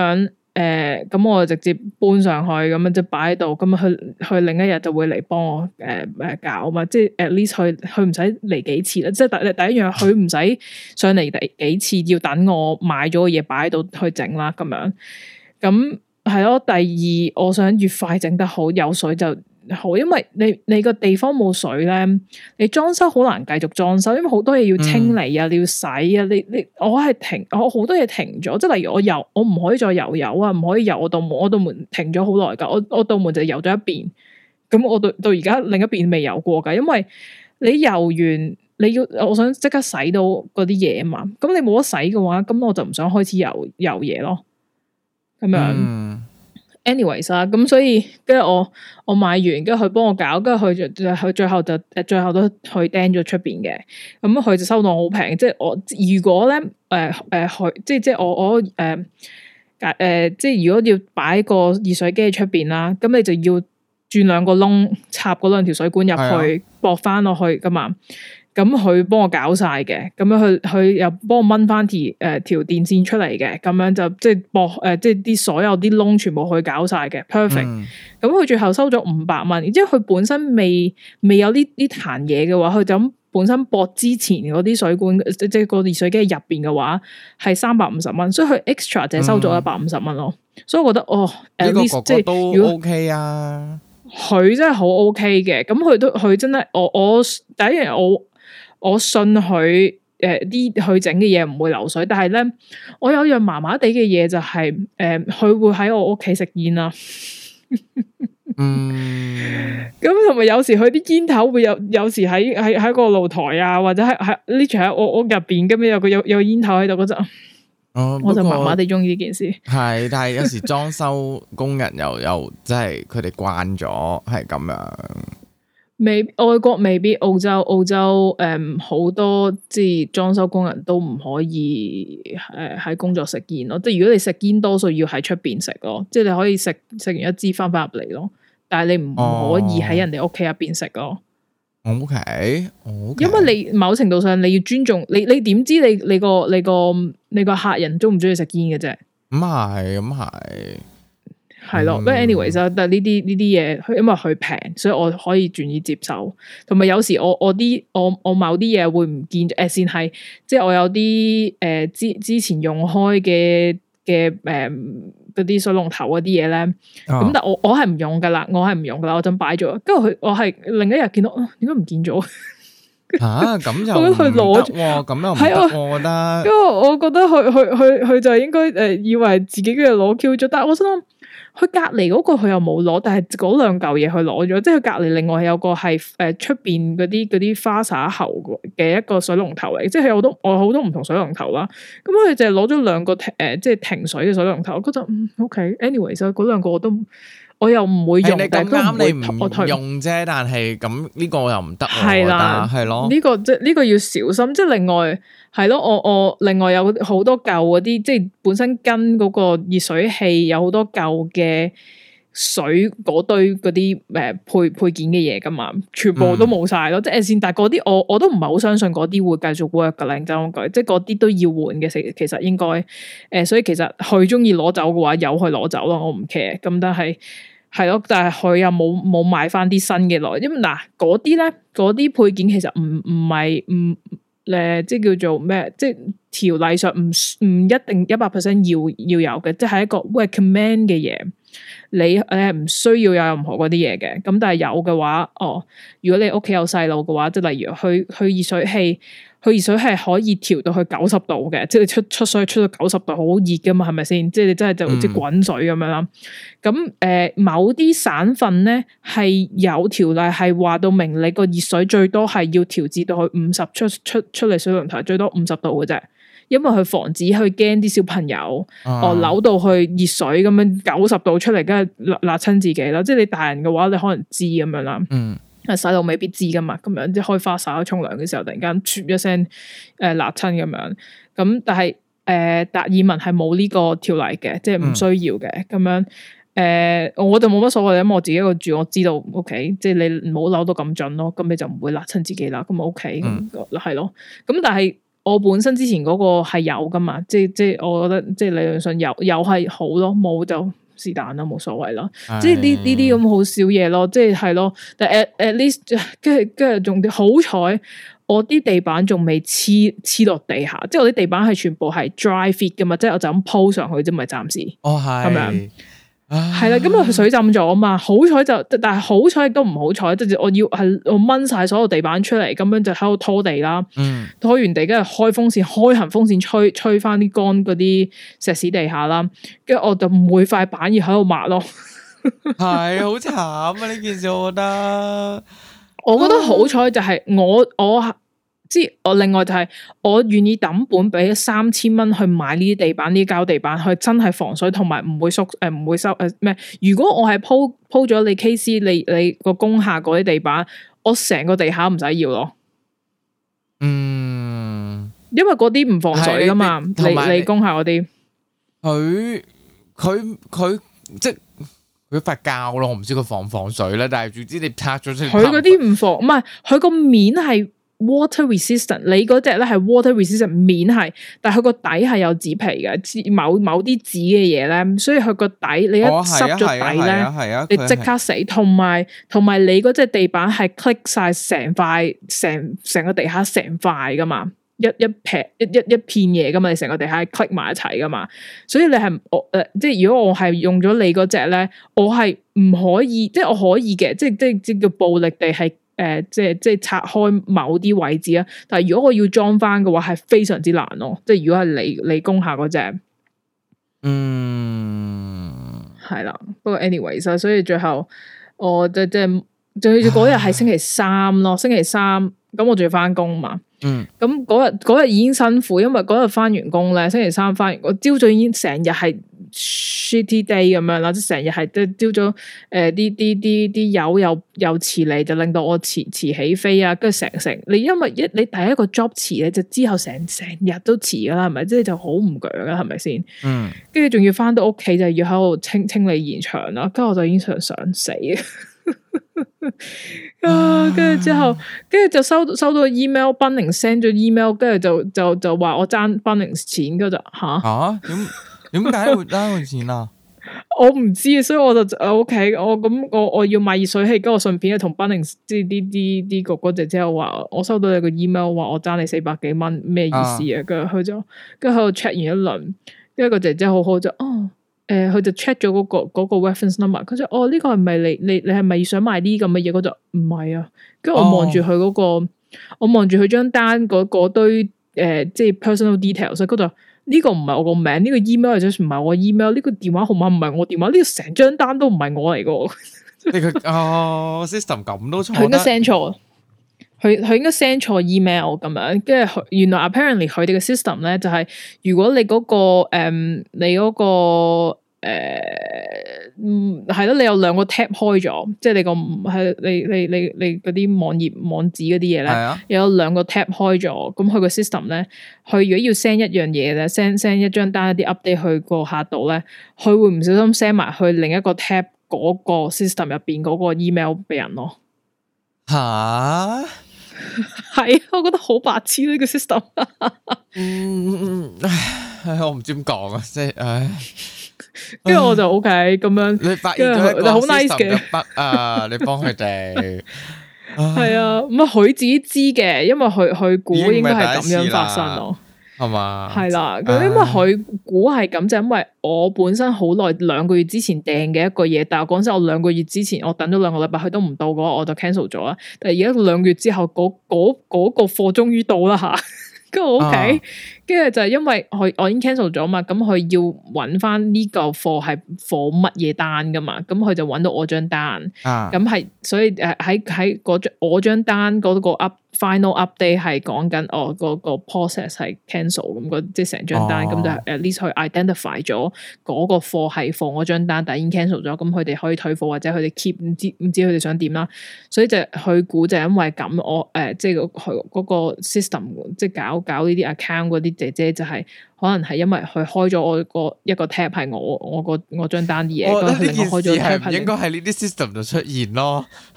咁我就直接搬上去，咁樣就擺喺度，咁佢另一日就會嚟幫我搞嘛，即係 at least 佢唔使嚟幾次啦，即係第一樣佢唔使上嚟幾次，要等我買咗嘅嘢擺喺度去整啦，咁樣，咁係咯。第二，我想越快整得好，有水就好，因為你個地方冇水咧，你裝修好難繼續裝修，因為好多嘢要清理啊，你要洗啊，我好多嘢停咗，即係例如我唔可以再油啊，唔可以油我道門停咗好耐噶，我道門就油咗一邊，咁我到而家另一邊未油過噶，因為你油完我想即刻洗到嗰啲嘢啊嘛，咁你冇得洗嘅話，咁我就唔想開始油嘢咯，咁樣。anyways 啊，咁所以跟住我買完，跟住佢幫我搞，跟住佢最後都佢釘咗出邊嘅，咁佢就收到好平，即係我如果咧即係我即係如果要擺個熱水機喺出邊啦，咁你就要轉兩個窿，插嗰兩條水管入去，駁翻落去噶嘛。咁佢幫我搞晒嘅，咁樣佢又幫我掹翻條電線出嚟嘅，咁樣就即係駁即係啲所有啲窿全部去搞晒嘅 perfect。咁佢最後收咗500蚊，即係佢本身未有呢壇嘢嘅話，佢就咁本身駁之前嗰啲水管，即係個熱水機入邊嘅話係350蚊，所以佢 extra 就係收咗150蚊咯。所以我覺得
呢個哥哥都 OK 啊，
佢真係好 OK 嘅。咁佢真係我第一樣我信佢佢整嘅嘢唔會流水，但係咧我有樣麻麻地嘅嘢就係佢會喺我屋企食煙啦。咁同埋有時佢啲煙頭會有時喺個露台啊，或者喺呢處喺我屋入邊，咁樣有個煙頭喺度嗰陣，我就麻麻地中意呢件事。係，
但係有時裝修工人又即係佢哋慣咗係咁樣。
外國未必，澳洲好多即係裝修工人都唔可以喺工作食煙咯。即係如果你食煙，多數要喺出邊食咯。即係你可以食完一支翻入嚟咯，但係你唔可以喺人哋屋企入邊食咯。
OK，
因為你某程度上你要尊重你點知你個客人中唔中意食煙嘅啫？咁係。係咯，不過 anyways 但係呢啲嘢，因為佢平，所以我可以願意接受。同埋有時我某啲嘢會唔見咗，先係即係我有啲之前用開嘅嗰啲水龍頭嗰啲嘢咧，咁但係我係唔用噶啦，我就擺咗。跟住我係另一日見到，點解唔見咗？
咁就佢攞咗，咁又唔得，我覺得。
因為我覺得佢就應該以為自己嘅攞 Q 咗，但係我想諗。佢隔籬嗰個佢又冇攞，但係嗰兩嚿嘢佢攞咗，即係佢隔籬另外有個係出邊嗰啲花灑喉嘅一個水龍頭嚟，即係我好多唔同水龍頭啦。咁佢就係攞咗兩個即係停水嘅水龍頭，我覺得OK，anyway，所以嗰兩個我又唔會用，但係都唔會我
用啫。但係咁呢個又唔得，
係啦，係咯。呢個要小心。即係另外係咯，我另外有好多舊嗰啲，即係本身跟嗰個熱水器有好多舊嘅水嗰堆嗰啲配件嘅嘢噶嘛，全部都冇晒咯。即係但係嗰啲我都唔係好相信嗰啲會繼續 work 噶啦，認真講句，即係嗰啲都要換嘅。其實應該所以其實佢中意攞走嘅話，由佢攞走咯，我唔 care。咁但係。係咯，但係佢又冇買翻啲新嘅落，因為嗱嗰啲咧，嗰啲配件其實唔係即係叫做咩，即係條例上唔一定100%要有嘅，即係一個 recommend 嘅嘢，你係唔需要有任何嗰啲嘢嘅。咁但係有嘅話，如果你屋企有細路嘅話，即係例如去熱水器。佢熱水係可以調到去90度嘅，即係你出水出到90度，好熱噶嘛，係咪先？即係你真係就好似滾水咁樣啦。咁某啲省份咧係有條例係話到明，你個熱水最多係要調節到去50出嚟水龍頭最多50度嘅啫，因為佢防止去驚啲小朋友扭到去熱水咁樣90度出嚟，梗係辣親自己啦。即係你大人嘅話，你可能知咁樣啦。細路未必知噶嘛，咁樣即係開花灑沖涼嘅時候，突然間啜一聲辣親咁樣。咁但係達爾文係冇呢個條例嘅，即係唔需要嘅咁樣。我就冇乜所謂，因為我自己一個住，我知道 OK， 即係你唔好扭到咁盡咯，咁你就唔會辣親自己啦。咁 OK，係咯。咁但係我本身之前嗰個係有噶嘛，即係我覺得即係理論上有係好咯，冇就是但啦，冇所謂啦。即係呢啲咁好少嘢咯，即係咯。但 at least 跟住仲好彩，我啲地板仲未黐落地下，即係我啲地板係全部係 dry fit 噶嘛，即係我就咁鋪上去啫，咪暫時。哦，係咁樣。係啦，咁佢水浸咗啊嘛，好彩但係好彩亦都唔好彩，即係我掹晒所有地板出嚟，咁樣就喺度拖地啦。拖完地，跟住開行風扇吹翻啲乾嗰啲石屎地下啦，跟住我就每塊板要喺度抹咯。
係好慘啊！呢件事我覺得
好彩就係我即係我另外就係我願意抌本俾3000蚊去買呢啲地板，呢啲膠地板，佢真係防水同埋唔會縮唔會收咩？如果我係鋪咗你 KC 你個工廈嗰啲地板，我成個地下唔使要咯。因為嗰啲唔防水噶嘛，你工廈嗰啲，
佢即係佢塊膠咯，我唔知佢防唔防水咧，但係總之你拆咗出嚟，
佢嗰啲唔防，唔係佢個面係。water resistant， 你嗰隻咧係 water resistant 面係，但係佢個底係有紙皮嘅，某啲紙嘅嘢咧，所以佢個底你一濕咗底咧，你即刻死。同埋你嗰隻地板係 click 晒成塊成個地下成塊噶嘛，一片嘢噶嘛，你成個地下係 click 埋一齊噶嘛，所以你係即係如果我係用咗你嗰隻咧，我係唔可以，即係我可以嘅，即係叫暴力地係。即係拆開某啲位置啊，但係如果我要裝翻嘅話，係非常之難咯。即係如果係你工廈嗰隻，係啦。不過 anyways，所以最後我即係嗰日係星期三咯，星期三咁我仲要翻工嘛。咁嗰日已經辛苦，因為嗰日翻完工咧，星期三翻完，我朝早已經成日係 shitty day 咁樣啦，即係成日係朝早啲友又遲嚟，就令到我遲起飛啊，跟住成你因為你第一個 job 遲咧，就之後成日都遲噶啦，係咪？即係就好唔鋸噶，係咪先？跟住仲要翻到屋企就要喺度清理現場啦，跟住我就已經想死跟住之後，跟住就收到 email， Bunnings send 咗 email， 跟住就話我爭 Bunnings 錢，跟住就
點解會爭佢錢啊？
我唔知啊，所以我就 OK， 我要買熱水器，跟住我順便同 Bunnings 即係啲哥哥姐姐話，我收到你個 email 話我爭你400幾蚊，咩意思啊？跟住佢就跟住喺度 check 完一輪，跟住個姐姐好就佢就 check 咗嗰個 reference number， 佢就呢個係咪你係咪想買啲咁嘅嘢？我就唔係啊，跟住我望住佢嗰個，我望住佢張單嗰堆即係 personal details， 所以佢就呢個唔係我個名，呢個 email 或者唔係我 email， 呢個電話號碼唔係我電話，呢個成張單都唔係我嚟噶。
system 咁都錯，
佢應該 send 錯，佢應該 send 錯 email 咁樣，跟住原來 apparently 佢哋嘅 system 咧就係如果你嗰個係咯，你有兩個 tab 開咗，即係你個係你嗰啲網址嗰啲嘢咧，有兩個 tab 開咗，咁佢個 system 咧，佢如果要 send 一樣嘢咧，send 一張單一啲 update 去個客度咧，佢會唔小心 send 埋去另一個 tab 嗰個 system 入邊嗰個 email 俾人咯。
吓？
係，我覺得好白痴呢個 system。
我唔知點講啊，即係
跟住我就 OK 咁樣，
你發現咗一個 system 嘅 bug 啊，你幫佢哋
係啊，咁佢自己知嘅，因為佢估應該係咁樣發生咯，
係嘛？
係啦，咁因為佢估係咁，就因為我本身好耐2個月之前訂嘅一個嘢，但係講真，我2個月之前我等咗2個禮拜，佢都唔到嘅話，我就 cancel 咗啦。但係而家2個月之後，嗰個貨終於到啦吓。跟住 OK，跟住就係因為我已經 cancel 咗嘛，咁佢要揾翻呢個貨係貨乜嘢單噶嘛，咁佢就揾到我張單，咁係所以喺我張單嗰個 final update 係講緊個 process 係 cancel 咁即係成張單，咁就 at least 去 identify 咗嗰個貨係貨我張單，但係已經 cancel 咗，咁佢哋可以退貨或者佢哋 keep 唔知佢哋想點啦，所以就佢估就因為咁我即係佢嗰個 system 即係搞呢啲 account 嗰啲姐姐就係可能係因為佢開咗我一個 tab 係我張單啲嘢，咁佢另外開咗 tab 係
應該係呢啲 system 就出現咯。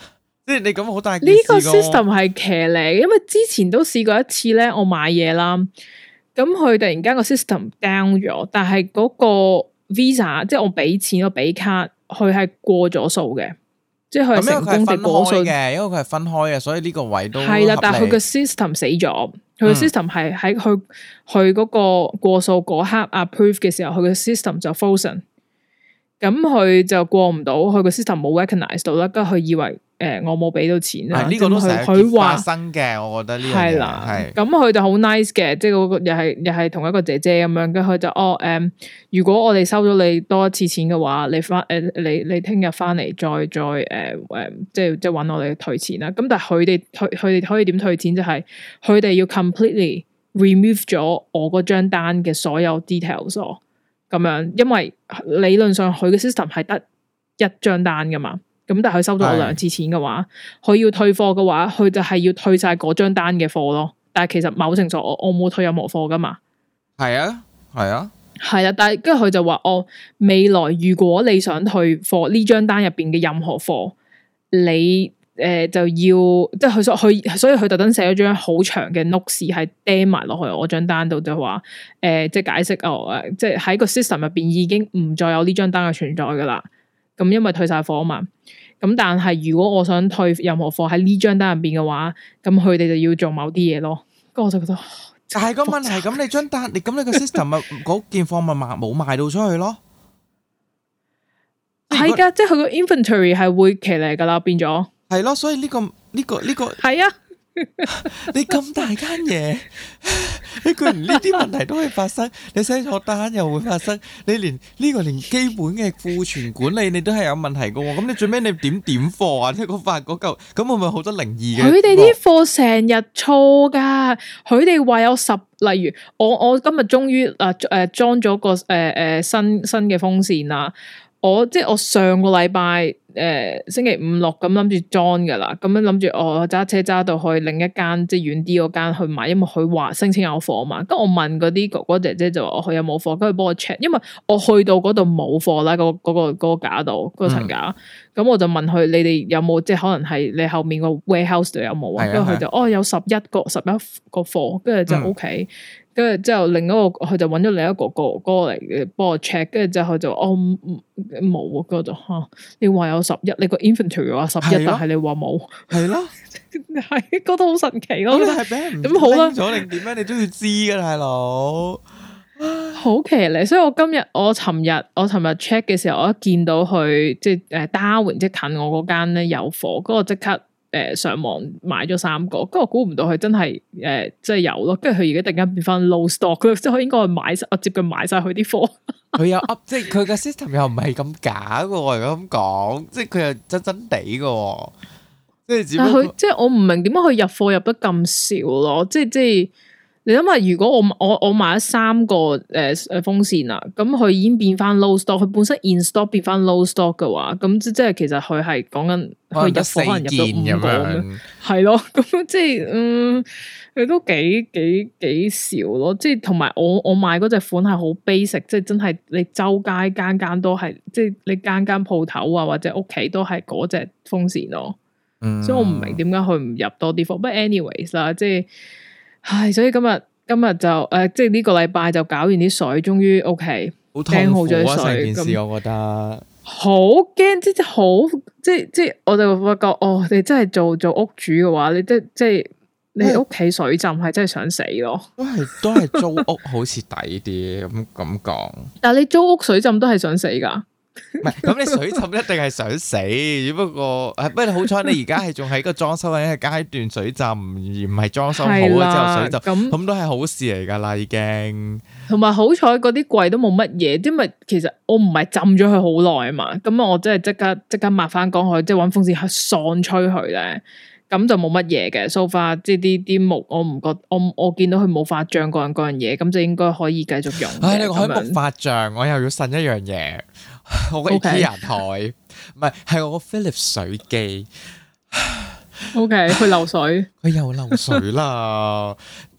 即係你咁好大件事。
呢個 system 係騎呢，因為之前都試過一次咧，我買嘢啦，咁佢突然間個 system down 咗，但係嗰個 Visa 即係我俾錢我俾卡，佢係過咗數嘅，即係佢係成功地過數嘅，
因為佢係分開嘅，所以呢個位都
係啦。但係佢個 system 死咗，佢個 system 係喺佢嗰個過數嗰刻 approve 嘅時候，佢個 system 就 frozen，咁佢就過唔到，佢個 system 冇 recognize 到啦，跟住佢以為。我冇俾到錢啦，
呢個都成日發生嘅，我覺得呢樣嘢係啦，
咁佢就好 nice 嘅，即係嗰個又係同一個姐姐咁樣，跟佢就如果我哋收咗你多一次錢嘅話，你聽日翻嚟再即係搵我哋退錢啦。咁但係佢哋可以點退錢？就係佢哋要 completely remove 咗我嗰張單嘅所有 details 咯，咁樣，因為理論上佢嘅 system 係得一張單噶嘛。咁但係佢收咗我2次錢嘅話，佢要退貨嘅話，佢就係要退晒嗰張單嘅貨咯。但係其實某程度我冇退任何貨噶嘛。係啊，但係跟住佢就話未來如果你想退貨呢張單入邊嘅任何貨，你就要即係所以佢特登寫咗張好長嘅 notes 係釘埋落去我張單度，就話即係解釋即係喺個 system 入邊已經唔再有呢張單嘅存在噶啦。咁因為退晒貨啊嘛，咁但係如果我想退任何貨喺呢張單入邊嘅話，咁佢哋就要做某啲嘢咯。咁我就覺得，
就係個問題。咁你張單，你個 system 咪嗰件貨咪冇賣到出去咯？
係噶，即係佢個 inventory 係會騎嚟噶啦，變咗。
係咯，所以呢個
係啊。
你咁大間嘢，你居然呢啲問題都會發生，你寫錯單又會發生，你連基本嘅庫存管理你都係有問題噶，咁你最尾你點貨啊？即係嗰塊嗰嚿，咁會唔會好多靈異嘅？
佢哋啲貨成日錯噶，佢哋話有例如我今日終於裝咗個新嘅風扇啦。我上個禮拜星期5、6咁諗住裝噶啦，咁樣諗住我揸車揸到去另一間即係遠啲嗰間去買，因為佢話聲稱有貨嘛。跟我問嗰啲哥哥姐姐就話佢有冇貨，跟住幫我 check，因為我去到嗰度冇貨啦，嗰個架度嗰個層架，咁我就問佢你哋有冇，即係可能係你後面個 warehouse 度有冇啊？跟住佢就有11個貨，跟住就 OK。跟住之後，另一個佢就揾咗另一個哥哥嚟幫我 check，跟住之後佢就冇啊，嗰度你話有11，你個 inventory 話11，但係你話冇，係咯，係覺得好神奇咯。
咁係俾人咁好啦，咗定點樣？你都要知噶，大佬，
好騎呢。所以我尋日 check 嘅時候，我一見到佢即係Darwin即係近我嗰間咧有貨，嗰個即刻。上網買咗3個，跟住我估唔到佢真係即係有咯，跟住佢而家突然間變翻 low stock，即係佢應該我接近買晒佢啲貨。佢
有 up，即係佢嘅 system 又唔係咁假嘅，如果咁講，即係佢又真真地嘅，即係只不過佢
即係我唔明點解佢入貨入得咁少咯，即係。你諗下，如果我買咗3個風扇啦，咁佢已經變翻 low stock，佢本身 in stock 變翻 low stock 嘅話，咁即係其實佢係講緊佢入貨可能入到5個咁樣，係咯，咁即係佢都幾少咯，即係同埋我買嗰隻款係好 basic，即係真係你周街間都係，即係你間鋪頭啊或者屋企都係嗰隻風扇咯，所以我唔明點解佢唔入多啲貨，不過 anyways 啦，即係。唉，所以今日就即係呢個禮拜就搞完啲水，終於 OK，掟好咗啲水。
成件事我覺得
好驚，即係我就發覺，你真係做屋主嘅話，你即係你屋企水浸係真係想死咯。
都係租屋好似抵啲咁講。
但係你租屋水浸都係想死噶。
唔係，咁你水浸一定係想死，只不過不過好彩你而家係仲喺個裝修緊嘅階段，水浸而唔係裝修好咗之後水浸，咁都係好事嚟噶啦已經。同埋好彩嗰啲櫃都冇乜嘢，因為其實我唔係浸咗佢好耐啊嘛，咁我真係即刻抹翻乾佢，即係搵風扇去喪吹佢咧，咁就冇乜嘢嘅。so far 即係啲木我唔覺，我見到佢冇發脹嗰樣嘢，咁就應該可以繼續用。 唉，你講起木發脹，我又要呻一樣嘢。我個 IKEA 台唔係我個 Philips 水機。
OK，佢漏水，
佢又漏水啦。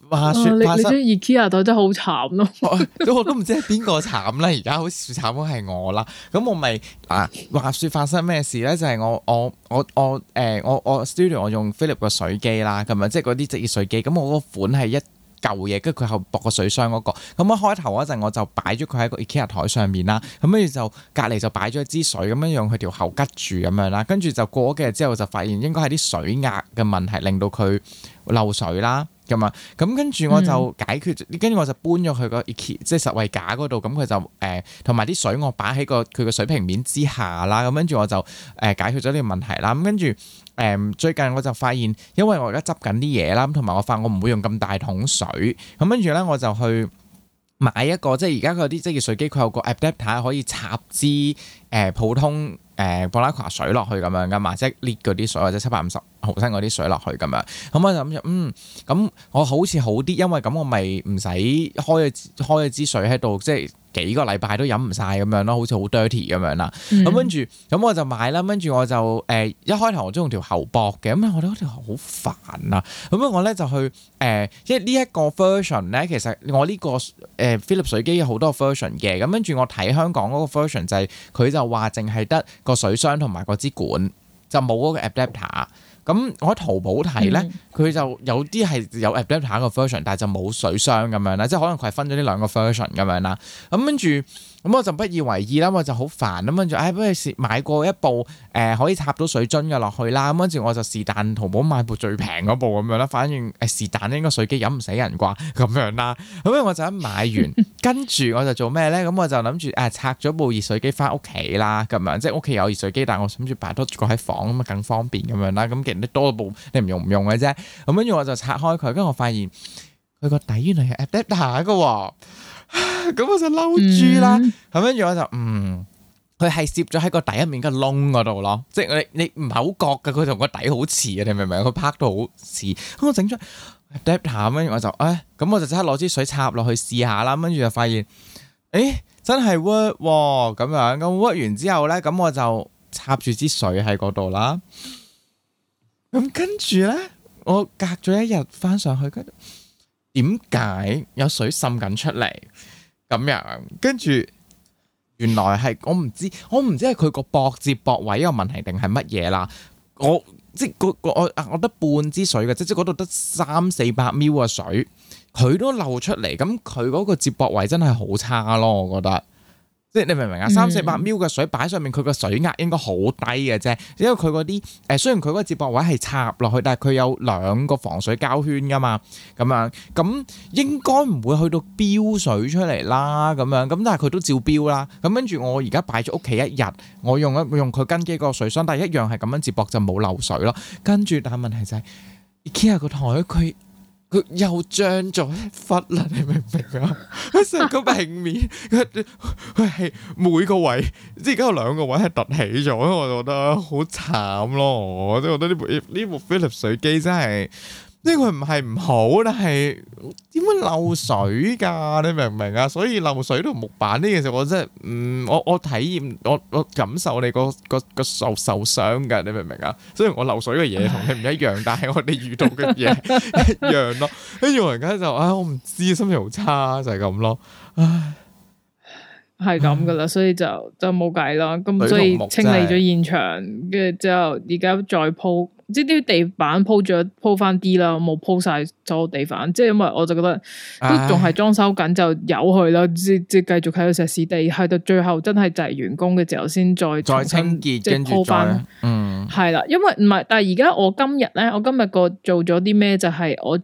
話說
你張 IKEA 台真係好慘咯，
我都唔知係邊個慘啦，而家好似慘嘅係我啦。咁我咪話說發生咩事咧？就係我 studio 我用 Philip 個水機啦，咁樣即係嗰啲職業水機。咁我個款係一舊嘢，跟住佢後駁個水箱嗰個。咁一開頭嗰陣我就擺咗佢喺個 IKEA 台上面啦。咁跟住就隔離就擺咗一支水，咁樣用佢條喉拮住咁樣啦。跟住就過咗幾日之後就發現應該係啲水壓嘅問題令到佢漏水啦。咁啊，咁跟住我就解決，跟住我就搬咗去個 IKEA 即係實惠架嗰度，咁佢就同埋啲水我擺喺佢個水平面之下啦，咁跟住我就解決咗呢個問題啦。咁跟住最近我就發現，因為我而家執緊啲嘢啦，同埋我發現我唔會用咁大桶水，咁跟住咧我就去買一個，即係而家嗰啲職業水機佢有個 adapter 可以插支普通布拉夸水落去咁樣噶嘛，即係 lift 嗰啲水或者750毫升嗰啲水落去咁樣，咁我就諗住咁我好似好啲，因為咁我咪唔使開咗支水喺度，即係幾個禮拜都飲唔晒咁樣咯，好似好 dirty 咁樣啦。咁跟住咁我就買啦，跟住我就一開頭我都用條喉駁嘅，咁我覺得嗰條好煩啊。咁我咧就去因為呢一個 version 咧，其實我呢個Philips 水機有好多 version 嘅，咁跟住我睇香港嗰個 version 就係佢就話淨係得個水箱同埋嗰支管，就冇嗰個 adapter。咁我喺淘寶睇咧，佢就有啲係有 adapter 個 version，但係就冇水箱咁樣啦，即係可能佢係分咗呢兩個 version 咁樣啦。咁跟住咁我就不以為意啦，我就好煩咁跟住，不如買過一部可以插到水樽嘅落去啦。咁跟住我就是但淘寶買部最平嗰部咁樣啦，反正是但應該水機飲唔死人啩咁樣啦。咁我就一買完，跟住我就做咩咧？咁我就諗住拆咗部熱水機翻屋企啦，咁樣即係屋企有熱水機，但係我諗住擺多個喺房咁啊更方便咁樣啦。咁既然你多部你唔用嘅啫，咁跟住我就拆開佢，跟住我發現佢個底原來係 adapter 嘅喎。咁我就嬲豬啦，咁跟住我就佢係攝咗喺個底入面嘅窿嗰度咯，即係你唔係好覺嘅，佢同個底好似嘅，你明唔明？佢拍到好似，咁我整咗 adapter，跟住我就咁我就即刻攞支水插落去試下啦，跟住就發現，真係 work 喎，咁樣咁 work 完之後咧，咁我就插住支水喺嗰度啦，咁跟住咧，我隔咗一日翻上去，跟住點解有水滲緊出嚟咁樣？跟住原來係我唔知係佢個駁接駁位有問題定係乜嘢啦？我得半支水嘅，即係嗰度得300-400 ml 嘅水，佢都漏出嚟。咁佢嗰個接駁位真係好差咯，我覺得。即係你明唔明啊？300-400 ml 嘅水擺上面，佢個水壓應該好低嘅啫。因為佢嗰啲雖然佢嗰個接駁位係插落去，但係佢有2個防水膠圈噶嘛，咁樣咁應該唔會去到飆水出嚟啦。咁樣咁，但係佢都照飆啦。咁跟住我而家擺咗屋企一日，我用佢跟機個水箱，但係一樣係咁樣接駁就冇漏水咯。跟住但係問題就係 IKEA 個台佢又漲咗一忽啦，你明唔明啊？佢成個平面，佢係每個位，即係而家有2個位係凸起咗，我就覺得好慘咯。我都覺得呢部 Philips 水機真係呢個唔係唔好，但係點會漏水㗎？你明唔明啊？所以漏水同木板呢件事，我真係我體驗我感受你個受傷㗎，你明唔明啊？雖然我漏水嘅嘢同你唔一樣，但係我哋遇到嘅嘢一樣咯。跟住我而家就我唔知，心情好差就係咁咯。唉，
係咁噶啦，所以就冇計啦。咁所以清理咗現場，跟住之後而家再鋪。即係啲地板鋪翻啲啦，冇鋪晒所有地板，即係因為我就覺得都仲係裝修緊，就由佢啦，即係繼續喺度石屎地，去到最後真係就係完工嘅時候先再
清潔，即係鋪翻，
係啦，因為唔係，但係而家我今日個做咗啲咩就係我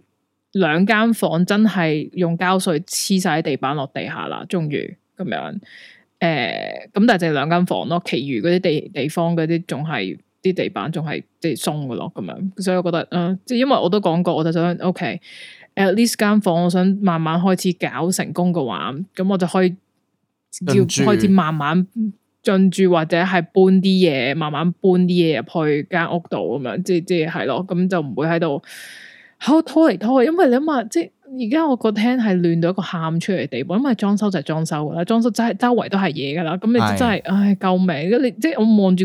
2間房真係用膠水黐晒喺地板落地下啦，終於咁樣，咁但係就係2間房咯，其餘嗰啲地方嗰啲仲係。啲地板仲係即係鬆嘅咯，咁樣，所以我覺得，即係因為我都講過，我就想 ，OK，at least 間房，我想慢慢開始搞成功嘅話，咁我就可以要開始慢慢進駐或者係搬啲嘢，慢慢搬啲嘢入去間屋度咁樣，即係係咯，咁就唔會喺度拖嚟拖去，因為你諗下，即係而家我個廳係亂到一個喊出嚟嘅地步，因為裝修就係裝修噶啦，裝修真係周圍都係嘢噶啦，咁你真係，唉，救命！你即係我望住個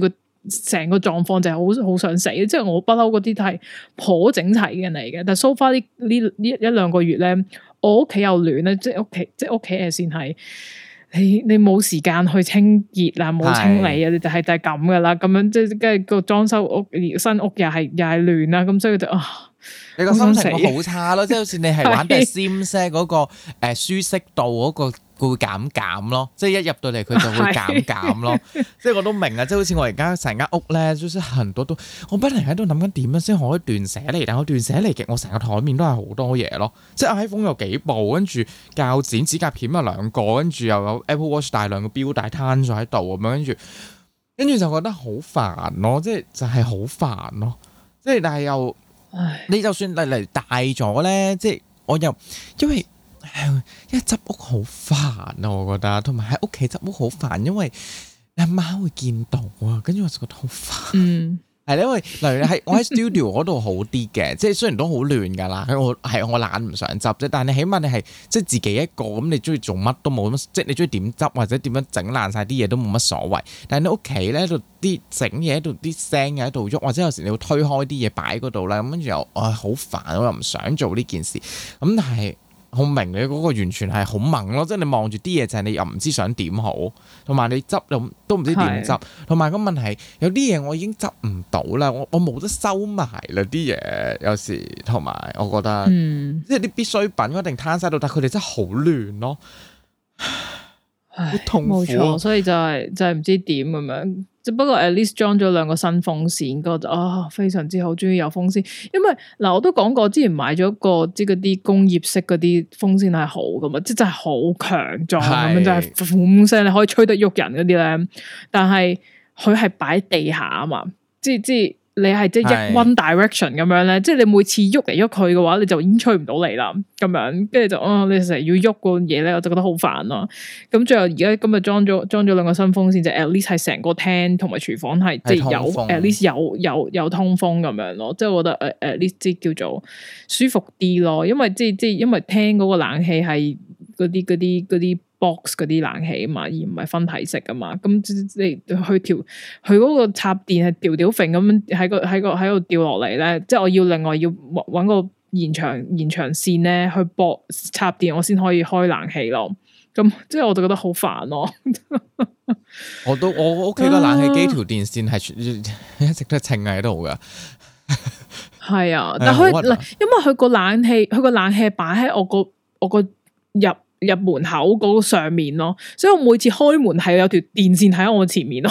成個狀況就係好想死，即係我不嬲嗰啲都係頗整齊嘅人嚟嘅。但係 so far 呢一兩個月咧，我屋企又亂咧，即係屋企誒先係你冇時間去清潔啊，冇清理啊，你就係咁噶啦。咁樣即係跟住個裝修屋新屋又係亂啦，咁所以就
你個心情會好差咯，即係好似你係玩啲 Sims 嗰個舒適度嗰個會減咯，即係一入到嚟佢就會減咯，即係我都明啊，即係好似我而家成間屋咧，就是很多都，我不停喺度諗緊點樣先可以斷捨離，但我斷捨離嘅我成個台面都係好多嘢咯，即係 iPhone 有幾部，跟住鉸剪、指甲片有2個，跟住又有 Apple Watch 大量嘅錶帶攤咗喺度咁樣，跟住就覺得好煩咯，即係就係好煩咯，即係但係又。你就算嚟大咗咧，即係我又因為執屋好煩啊，我覺得，同埋喺屋企執屋好煩，因為你阿媽會見到啊，跟住我就覺得好煩。係因為例如喺我喺 studio 嗰度好啲嘅，即係雖然都好亂噶啦，我懶唔想執啫，但係你起碼你係即係自己一個咁，你中意做乜都冇乜，即係你中意點執或者點樣整爛晒啲嘢都冇乜所謂。但係你屋企咧喺度啲整嘢喺度，啲聲又喺度喐，或者有時你要推開啲嘢擺嗰度啦，咁跟住又好煩，我又唔想做呢件事。咁但係好明你嗰個完全係好猛咯，即係你望住啲嘢就係你又唔知想點好，同埋你執又都唔知點執，同埋個問題有啲嘢我已經執唔到啦，我冇得收埋啦啲嘢，有時同埋我覺得，即係啲必需品一定攤晒到，但係佢哋真係好亂咯，好痛苦。冇錯，
所以就係唔知點咁樣。只不過 at least 裝咗2個新風扇，覺得非常之好，終於有風扇。因為嗱，我都講過之前買咗個即係嗰啲工業式嗰啲風扇係好噶嘛，即係真係好強壯咁樣，就係風聲你可以吹得喐人嗰啲咧。但係佢係擺地下啊嘛，即係你係即係 one direction 咁樣咧，即係你每次喐嚟喐去嘅話，你就已經吹唔到你啦。咁樣跟住就你成日要喐個嘢咧，我就覺得好煩咯。咁最後而家今日裝咗2個新風扇，就 at least 係成個廳同埋廚房係即係有 at least 有通風咁樣咯。即係我覺得at least 即係叫做舒服啲咯。因為即係因為廳嗰個冷氣係嗰啲 box 嗰啲冷氣啊嘛，而唔係分體式啊嘛。咁你去佢嗰個插電係吊揈咁樣喺度掉落嚟咧，即係我要另外要搵個延長線咧去駁插電，我先可以開冷氣咯。咁即係我就覺得好煩咯。
我屋企個冷氣機條電線係一直都稱喺度噶。
係啊，但佢因為佢個冷氣擺喺我個入門口嗰個上面咯，所以我每次開門係有條電線喺我前面咯。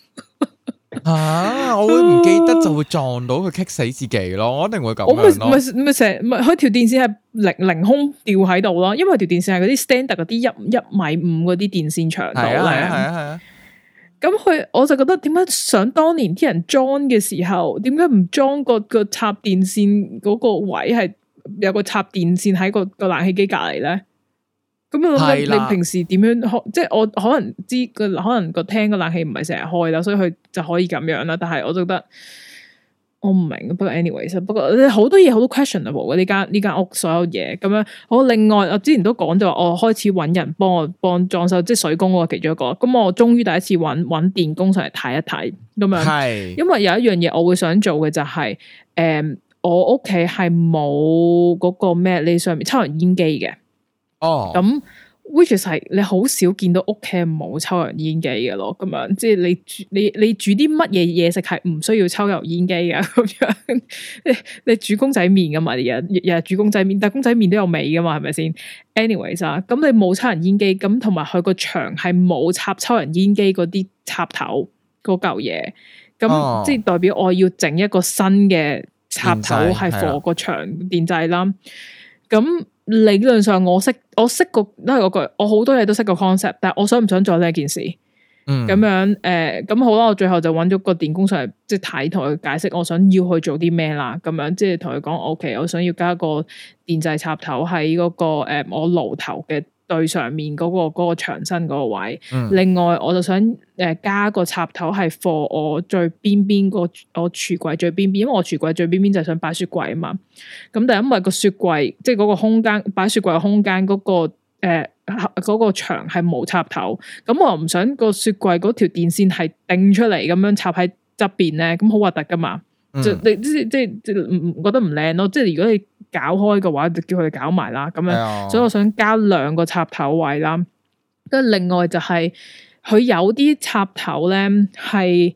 我會唔記得就會撞到佢，棘死自己咯，我一定會咁樣咯。
我咪成日佢條電線係凌空吊喺度咯，因為條電線係嗰啲 standard 嗰啲1.5米嗰啲電線長度咧。係啊。咁我就覺得點解想當年啲人裝嘅時候，點解唔裝個插電線嗰個位係有個插電線喺個冷氣機隔籬咧？咁你平時點樣開？即係我可能知可能個廳個冷氣唔係成日開啦，所以佢就可以咁樣啦。但係我就覺得我唔明。不過 anyways，不過好多嘢好多 questionable 嘅呢間屋所有嘢咁樣。好，另外我之前都講咗話，我開始搵人幫裝修，即係水工嗰個其中一個。咁我終於第一次搵電工上嚟睇一睇咁樣。係，因為有一樣嘢我會想做嘅就係我屋企係冇嗰個咩你上面抽油煙機嘅。咁 which is 係你好少見到屋企冇抽油煙機嘅咯，咁樣即係你煮啲乜嘢嘢食係唔需要抽油煙機嘅咁樣，你煮公仔麵噶嘛，日日煮公仔麵，但公仔麵都有味噶嘛，係咪先 ？anyways 啊，咁你冇抽油煙機，咁同埋佢個牆係冇插抽油煙機嗰啲插頭嗰嚿嘢，咁即係代表我要整一個新嘅插頭係 for 個牆電掣啦，咁。理論上我識個都係嗰句，我好多嘢都識個 concept， 但係我想唔想做呢件事？咁樣咁好啦，我最後就揾咗個電工上嚟，即係睇同佢解釋我想要去做啲咩啦。咁樣即係同佢講 ，OK， 我想要加個電掣插頭喺嗰個我爐頭嘅對上面嗰個牆身嗰個位。另外我就想加個插頭係 for 我最邊邊我櫥櫃最邊邊，因為我櫥櫃最邊邊就係想擺雪櫃啊嘛。咁但係因為個雪櫃即係嗰個空間擺雪櫃嘅空間嗰個牆係冇插頭，咁我又唔想個雪櫃嗰條電線係掟出嚟咁樣插喺側邊咧，咁好核突噶嘛。你即唔覺得唔靚咯？即係如果你搞開嘅話，就叫佢哋搞埋啦。咁樣，所以我想加2個插頭位啦。跟住另外就係、是、佢有啲插頭咧係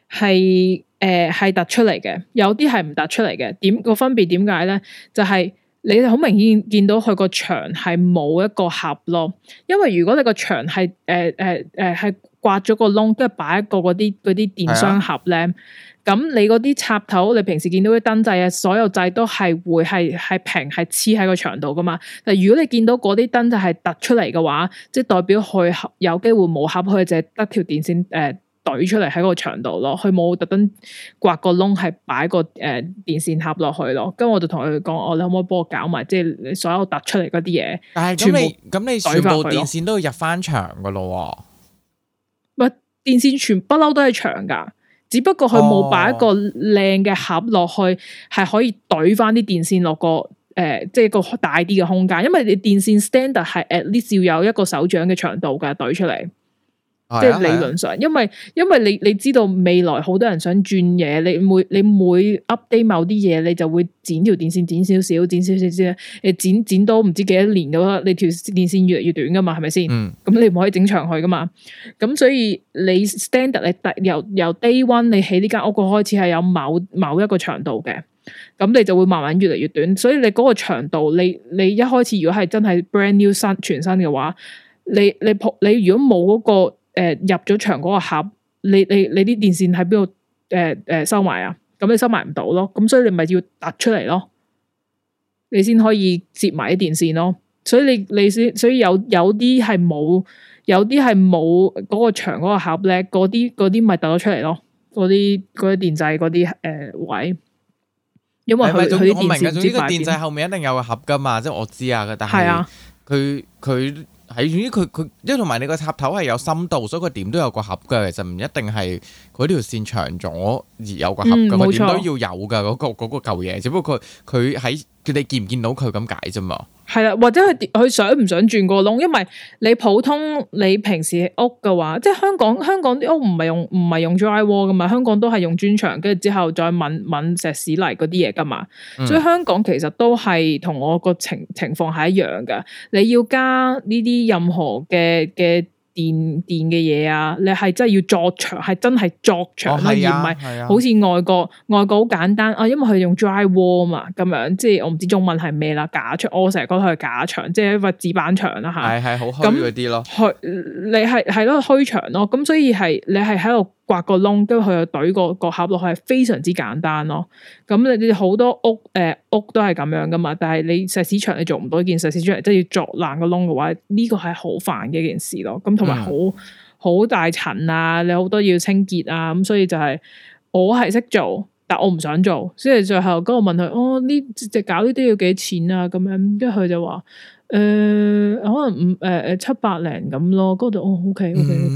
突出嚟嘅，有啲係唔突出嚟嘅。點個分別點解咧？就係、是、你好明顯見到佢個牆係冇一個盒咯。因為如果你個牆係係刮咗個窿，跟住擺一個嗰啲電箱盒咧。咁你嗰啲插頭，你平時見到啲燈掣啊，所有掣都係會係平係黐喺個牆度噶嘛。但如果你見到嗰啲燈掣係突出嚟嘅話，即係代表佢有機會冇盒，佢就係得條電線懟出嚟喺個牆度咯。佢冇特登刮個窿係擺個電線盒落去咯。咁我就同佢講，你可唔可以幫我搞埋，即係你所有突出嚟嗰啲嘢？但係咁你全部電線都要入翻牆噶咯？唔係，電線全不嬲都係牆噶。只不過佢冇擺一個靚嘅盒落去，係可以懟翻啲電線落個即係個大啲嘅空間。因為你電線 standard 係 at least 要有一個手掌嘅長度㗎，懟出嚟。即係理論上，因為你知道未來好多人想轉嘢，你每 update 某啲嘢，你就會剪條電線剪少少，剪到唔知幾多年嘅話，你條電線越嚟越短噶嘛，係咪先？咁你唔可以整長佢噶嘛。咁所以你 standard 你由 day one 你起呢間屋個開始係有某一個長度嘅，咁你就會慢慢越嚟越短。所以你嗰個長度，你一開始如果係真係 brand new 全新嘅話，你如果冇嗰個入咗牆嗰個盒，你啲電線喺邊度收埋啊？咁你收埋唔到咯，咁所以你咪要突出嚟咯，你先可以接埋啲電線咯。所以所以有啲係冇，有啲係冇嗰個牆嗰個盒咧，嗰啲咪突咗出嚟咯。嗰啲電掣嗰啲位，因為佢啲電線唔知擺邊。電掣後面一定有個盒噶嘛，即係我知啊，但係佢。係，總之佢，因為同埋你個插頭係有深度，所以佢點都有個盒嘅。其實唔一定係佢條線長咗而有個盒嘅，佢點都要有嘅嗰個舊嘢。只不過佢喺你見唔見到佢咁解啫嘛。係啦，或者佢想唔想轉個窿？因為你普通你平時屋嘅話，即係香港啲屋唔係用 drywall 噶嘛，香港都係用磚牆，跟住之後再揾石屎泥嗰啲嘢噶嘛。所以香港其實都係同我個情況係一樣噶。你要加呢啲任何嘅電嘅嘢啊，你係真係要作牆，係真係作牆，而唔係好似外國好簡單啊，因為佢用 drywall 嘛，咁樣即係我唔知中文係咩啦，假牆，我成日覺得佢係假牆，即係一塊紙板牆啦吓，係好虛嗰啲咯，你係咯虛牆咯，咁所以係你係喺度刮個窿，跟住佢又懟個盒落去，係非常之簡單咯。咁你好多屋都係咁樣噶嘛，但係你石屎牆你做唔到一件石屎牆，即係要鑿爛個窿嘅話，呢個係好煩嘅一件事咯。咁同埋好大塵啊，你好多要清潔啊，咁所以就係我係識做，但我唔想做。所以最後嗰我問佢，呢隻搞呢啲要幾錢啊？咁樣，跟住佢就話，可能700零咁咯。嗰度OK。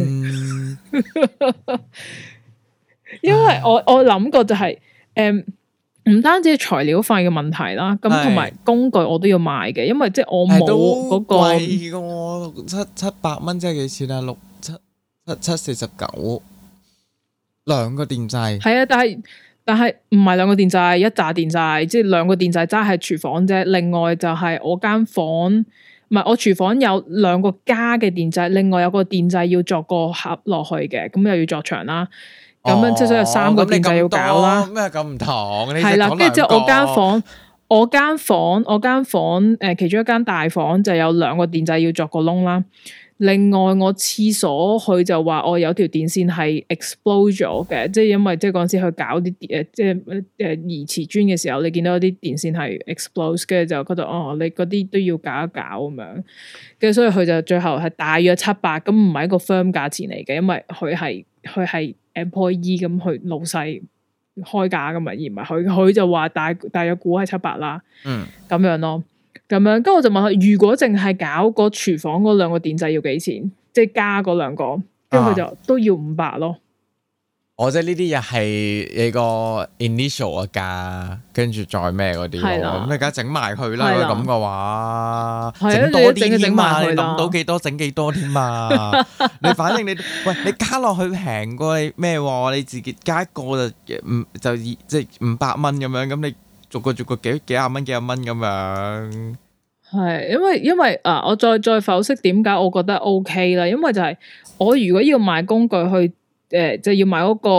因為我諗過就係唔單止係材料費嘅問題啦，咁同埋工具我都要買嘅，因為即係我冇嗰個貴嘅700蚊，即係幾錢啊？749兩個電掣係啊，但係唔係兩個電掣，一紮電掣，即係兩個電掣齋係廚房啫。另外就係我間房，唔係我廚房有2個加嘅電掣，另外有個電掣要作個盒落去嘅，咁又要作牆啦。咁樣即係所以有3個電掣要搞啦。咩咁唔同？係啦，跟住之後我間房其中一間大房就有2個電掣要作個窿啦。另外我廁所佢就話我有條電線係 explode 咗嘅，即係因為即係嗰陣時去搞啲即係移瓷磚嘅時候，你見到啲電線係 explode， 跟住就覺得你嗰啲都要搞一搞咁樣，跟住所以佢就最後係大約700，咁唔係一個 firm 價錢嚟嘅，因為佢係 employee 咁去老細開價噶嘛，而唔係佢就話大約估係700啦，咁樣咯。咁樣，跟住我就問佢，如果淨係搞個廚房嗰2個電掣要幾錢？即係加嗰2個，跟住佢就都要500咯。
我即係呢啲又係你個 initial 嘅價，跟住再咩嗰啲咯。咁你而家整埋佢啦，咁嘅話，整多啲添嘛，你諗到幾多整幾多添嘛。你反正你加落去平過你咩喎？你自己加一個就即係500蚊咁樣，咁你逐個幾廿蚊咁樣。
係因為我再剖析點解我覺得 OK 啦，因為就係我如果要買工具去。就要買嗰個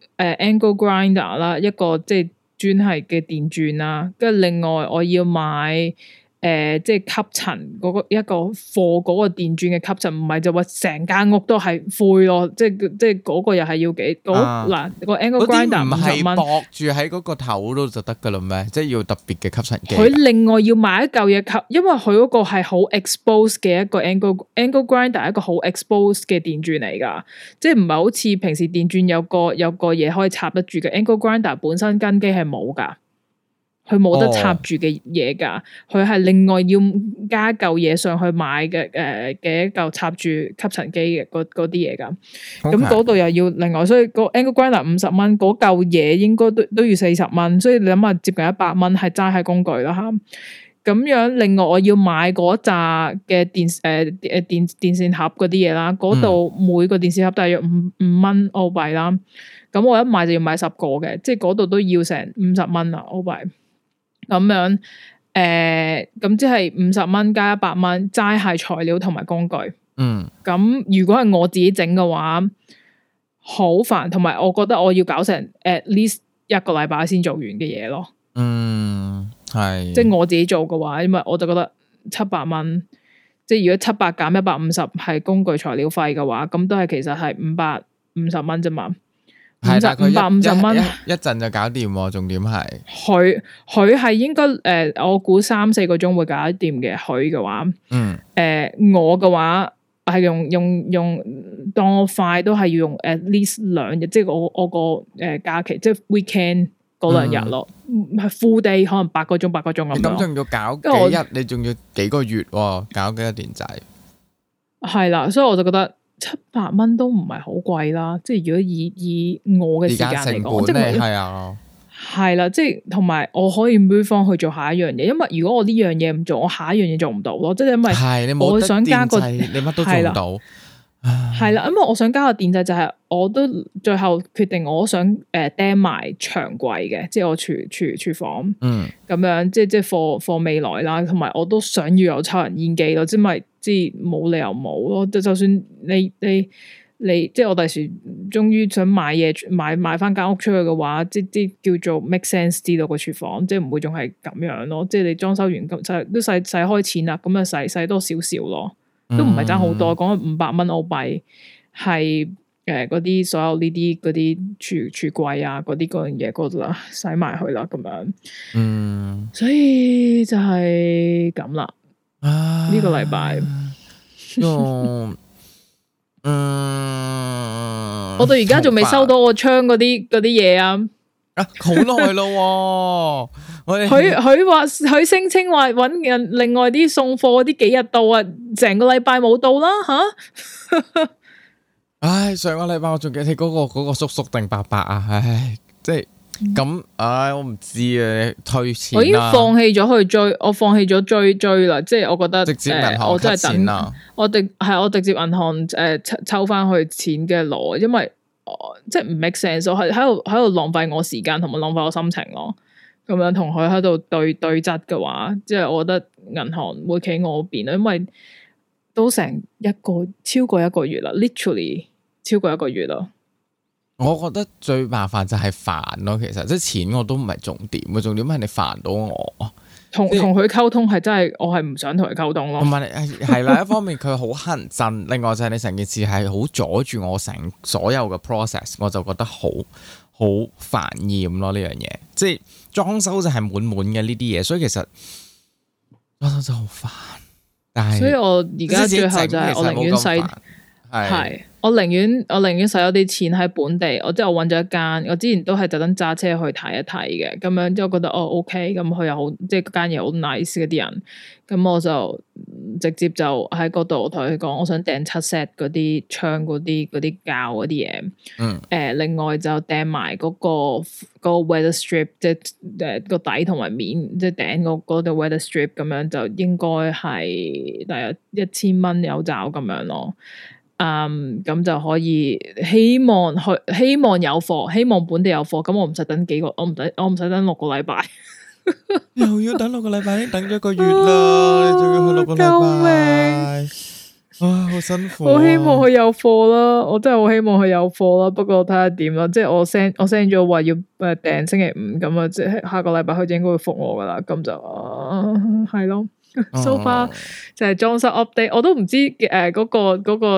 angle grinder 啦，一個即係專係嘅電鑽啦，跟住另外我要買即係吸塵嗰個一個貨嗰個電鑽嘅吸塵，唔係就話成間屋都係灰咯，即係嗰個又係要幾嗱個 angle grinder 50蚊，唔係駁住喺嗰個頭度就得噶啦咩？即係要特別嘅吸塵機。佢另外要買一嚿嘢吸，因為佢嗰個係好 expose 嘅一個 angle grinder， 一個好 expose 嘅電鑽嚟噶，即係唔係好似平時電鑽有個嘢可以插得住嘅 angle grinder 本身根基係冇噶。佢冇得插住嘅嘢噶，佢係另外要加嚿嘢上去買嘅嘅一嚿插住吸塵機嘅嗰啲嘢噶，咁嗰度又要另外，所以個 angle grinder 50蚊，嗰嚿嘢應該都要40蚊，所以你諗下接近100蚊係齋係工具啦吓。咁樣另外我要買嗰扎嘅電線盒嗰啲嘢啦，嗰度每個電線盒大約5蚊澳幣啦，咁我一買就要買10個嘅，即係嗰度都要成50蚊啦澳幣。咁樣咁即係50蚊加100蚊，齋係材料同埋工具。咁如果係我自己整嘅話，好煩，同埋我覺得我要搞成 at least 1個禮拜先做完嘅嘢咯。係。即係我自己做嘅話，因為我就覺得700蚊，即係如果700減150係工具材料費嘅話，咁都係其實係550蚊啫嘛。550蚊
一陣就搞掂，重點係
佢係應該我估3-4個鐘會搞得掂嘅。佢嘅話，我嘅話係用當我快都係要用 at least 2日，即係我個假期，即係 weekend 嗰2日咯，係 full day 可能8個鐘咁樣。
咁仲要搞幾日？你仲要幾個月搞幾個電掣？係
啦，所以我就覺得。700蚊都唔係好貴啦，即係如果以我嘅時間嚟講，即係係啦，即係同埋我可以 move 翻去做下一樣嘢，因為如果我呢樣嘢唔做，我下一樣嘢做唔到咯，即係因為我想加個
你乜都做唔到，
係啦，因為我想加個電掣就係，我都最後決定我想釘埋牆櫃嘅，即係我廚房，咁樣即係貨未來啦，同埋我都想要有抽油煙機咯，即係冇理由冇咯，就算你即係我第時終於想買嘢買翻間屋出去嘅話，即叫做 make sense 知道個廚房，即係唔會仲係咁樣咯，即係你裝修完咁都使開錢啦，咁啊使多少少咯，都唔係爭好多，講500蚊澳幣係嗰啲所有呢啲嗰啲廚櫃啊嗰啲嗰樣嘢嗰度啦，使埋去啦咁樣，所以就係咁啦。呢個禮拜，我到而家仲未收到我窗嗰啲嘢啊！
好耐咯，
佢話佢聲稱話搵人另外啲送貨嗰啲幾日到啊，成個禮拜冇到啦吓！
唉，上個禮拜我仲記得嗰個叔叔定伯伯啊，唉，即係。咁，我唔知啊，退錢
我已經放棄咗去追，我放棄咗追啦，即係我覺得
直接銀行
我真係等
啦，
我直接銀行抽翻去錢嘅攞，因為即係唔 make sense，我係喺度浪費我時間同埋浪費我心情咯。咁樣同佢喺度對質嘅話，即係我覺得銀行會企我邊啦，因為都成超過一個月啦 ，literally 超過1個月啦。
我覺得最麻煩就係煩咯，其實即係錢我都唔係重點，個重點係你煩到我。同佢溝通係真係，我係唔想同佢溝通咯。唔係係啦，一方面佢好乞人憎，另外就係你成件事係好阻住我成所有嘅 process， 我就覺得好煩厭咯呢樣嘢。即係裝修就係滿嘅呢啲嘢，所以其實裝修真係好煩。但係，
所以我而家最後就係我寧願係，我寧願使咗啲錢喺本地，我揾咗一間，我之前都係特登揸車去睇一睇嘅，咁樣之後覺得OK，咁佢又好，即係嗰間嘢好 nice 嗰啲人，咁我就直接就喺嗰度同佢講，我想訂7 set 嗰啲窗嗰啲膠嗰啲嘢，另外就訂埋嗰個 weather strip， 即係個底同埋面，即係頂嗰個 weather strip 咁樣，就應該係大約1000蚊有找咁樣咯。咁就可以希望有貨，希望本地有貨，咁我唔使等幾個，我唔使等6個禮拜，
又要等6個禮拜，已經等咗1個月啦，你仲要去6個禮拜，救命！啊，好辛苦啊！
我希望佢有貨啦，我真係好希望佢有貨啦。不過睇下點啦，即係我 send 咗話要訂星期5咁啊，即係下個禮拜佢就應該會覆我噶啦，咁就係咯。So far 就係裝修 update，我都唔知嗰個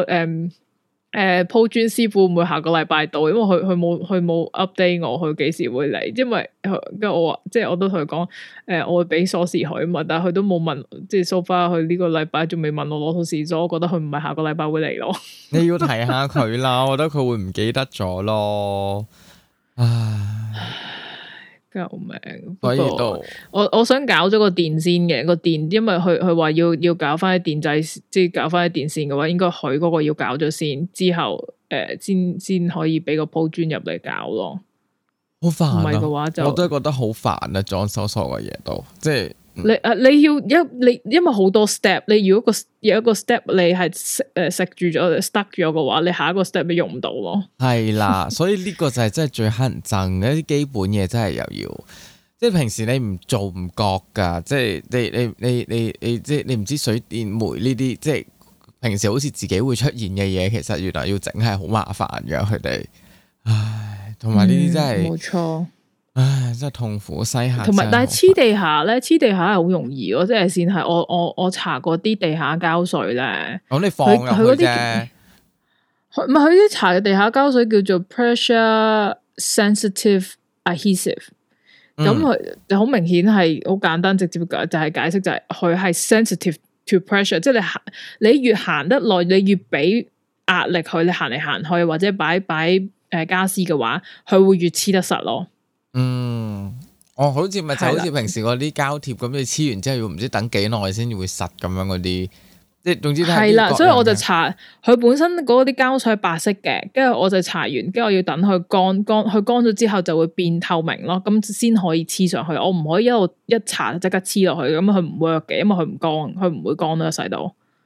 鋪磚師傅會唔會下個禮拜到，因為佢冇 update 我，佢幾時會嚟？因為跟住我話，即係我都同佢講，我會俾鎖匙佢嘛，但係佢都冇問，即係 so far 佢呢個禮拜仲未問我攞鎖匙，所以我覺得佢唔係下個禮拜會嚟咯。
你要提下佢啦，我覺得佢會唔記得咗咯。唉，
救命！
所以都
我想搞咗個電先嘅個電，因為佢話要搞翻啲電掣，即係搞翻啲電線嘅話，應該佢嗰個要搞咗先，之後先可以俾個鋪磚入嚟搞咯。
好煩啊！
唔係嘅話就
我都係覺得好煩啊！裝修所有嘅嘢都即係
你因為好多 step， 你如果有一個 step 你係食住咗 stuck 咗嘅話，你下一個 step 你用唔到咯。係
啦，所以呢個就係真係最乞人憎嘅，一啲基本嘢真係又要，即係平時你唔做唔覺噶，即係你即係你唔知水電煤呢啲，即係平時好似自己會出現嘅嘢，其實原來要整係好麻煩嘅，佢哋，唉，同埋呢啲真係
冇錯。
唉，真係痛苦西下。
同埋，但係黐地下咧，黐地下係好容易咯，即係先係我搽過啲地下膠水咧。
咁你放入去啫。
唔係佢啲搽嘅地下膠水叫做 pressure sensitive adhesive，咁佢就好明顯係好簡單直接嘅，就係解釋就係佢係 sensitive to pressure， 即係你越行得耐，你越俾壓力佢，你行嚟行去或者擺家私嘅話，佢會越黐得實咯。
好似咪就好似平時嗰啲膠貼咁，你黐完之後要唔知等幾耐先至會實咁樣嗰啲，即係總之係啦。
所以我就搽佢本身嗰啲膠水係白色嘅，跟住我就搽完，跟住我要等佢乾，佢乾咗之後就會變透明咯，咁先可以黐上去。我唔可以一搽即刻黐落去，咁佢唔 work 嘅，因為佢唔乾，佢唔會乾到一世度。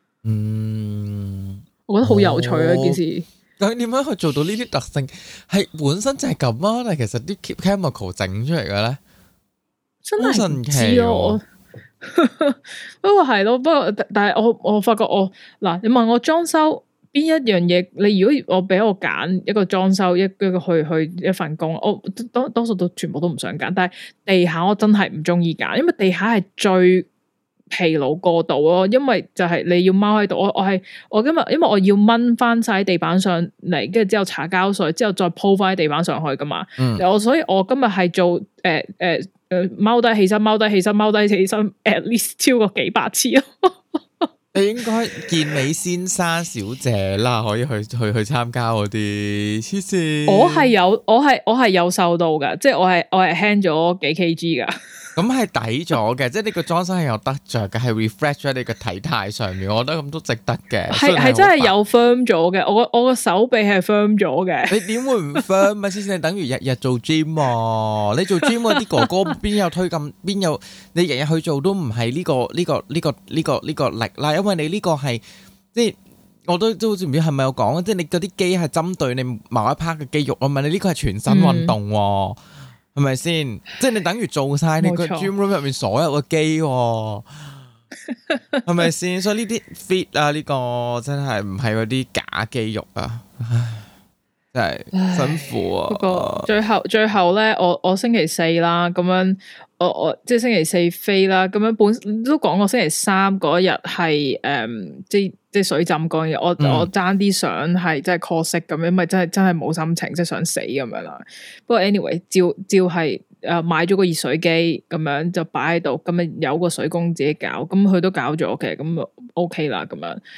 我覺得好有趣啊！件事。
究竟點樣去做到呢啲特性？係本身就係咁啊，但係其實啲 chemical 整出嚟嘅咧，
真係神奇咯。不過係咯，但係我發覺嗱，你問我裝修邊一樣嘢，你如果我俾我揀一個裝修一個去一份工，我多數都全部都唔想揀。但係地下我真係唔中意揀，因為地下係最疲勞過度咯，因為就係你要踎喺度，我今日因為我要掹翻晒地板上嚟，跟住之後搽膠水，之後再鋪翻喺地板上去噶嘛。所以我今日係做踎低起身踎低起身踎低起身 at least 超過幾百次咯。
你應該健美先生小姐啦，可以去參加嗰啲黐線。我係有瘦到噶，即係我係輕咗幾 kg 噶。咁係抵咗嘅，即係呢個裝修係有得着嘅，係 refresh 咗你個體態上面，我覺得咁都值得嘅。係真係有 firm 咗嘅，我個手臂係 firm 咗嘅。你點會唔 firm 咪先？你等於日日做 gym 啊！你做 gym 嗰啲哥哥邊有推咁？邊有你日日去做都唔係呢個力啦，因為你呢個係即係我都好似唔知係咪有講，即係你嗰啲機係針對你某一 part 嘅肌肉啊嘛，你呢個係全身運動。係咪先？即係你等於做晒你個 gym room 入面所有嘅機，係咪先？所以呢啲 fit 啊，呢個真係唔係嗰啲假肌肉啊，唉，真係辛苦啊。不過
最後咧，我星期四啦，咁樣我即係星期四飛啦，咁樣本都講過星期三嗰日係即係水浸嗰日，我爭啲想係即係 call 息咁樣，咪真係冇心情，即係想死咁樣啦。不過 anyway，照係買咗個熱水機咁樣就擺喺度，咁啊有個水工自己搞，咁佢都搞咗嘅，咁 OK 啦咁樣。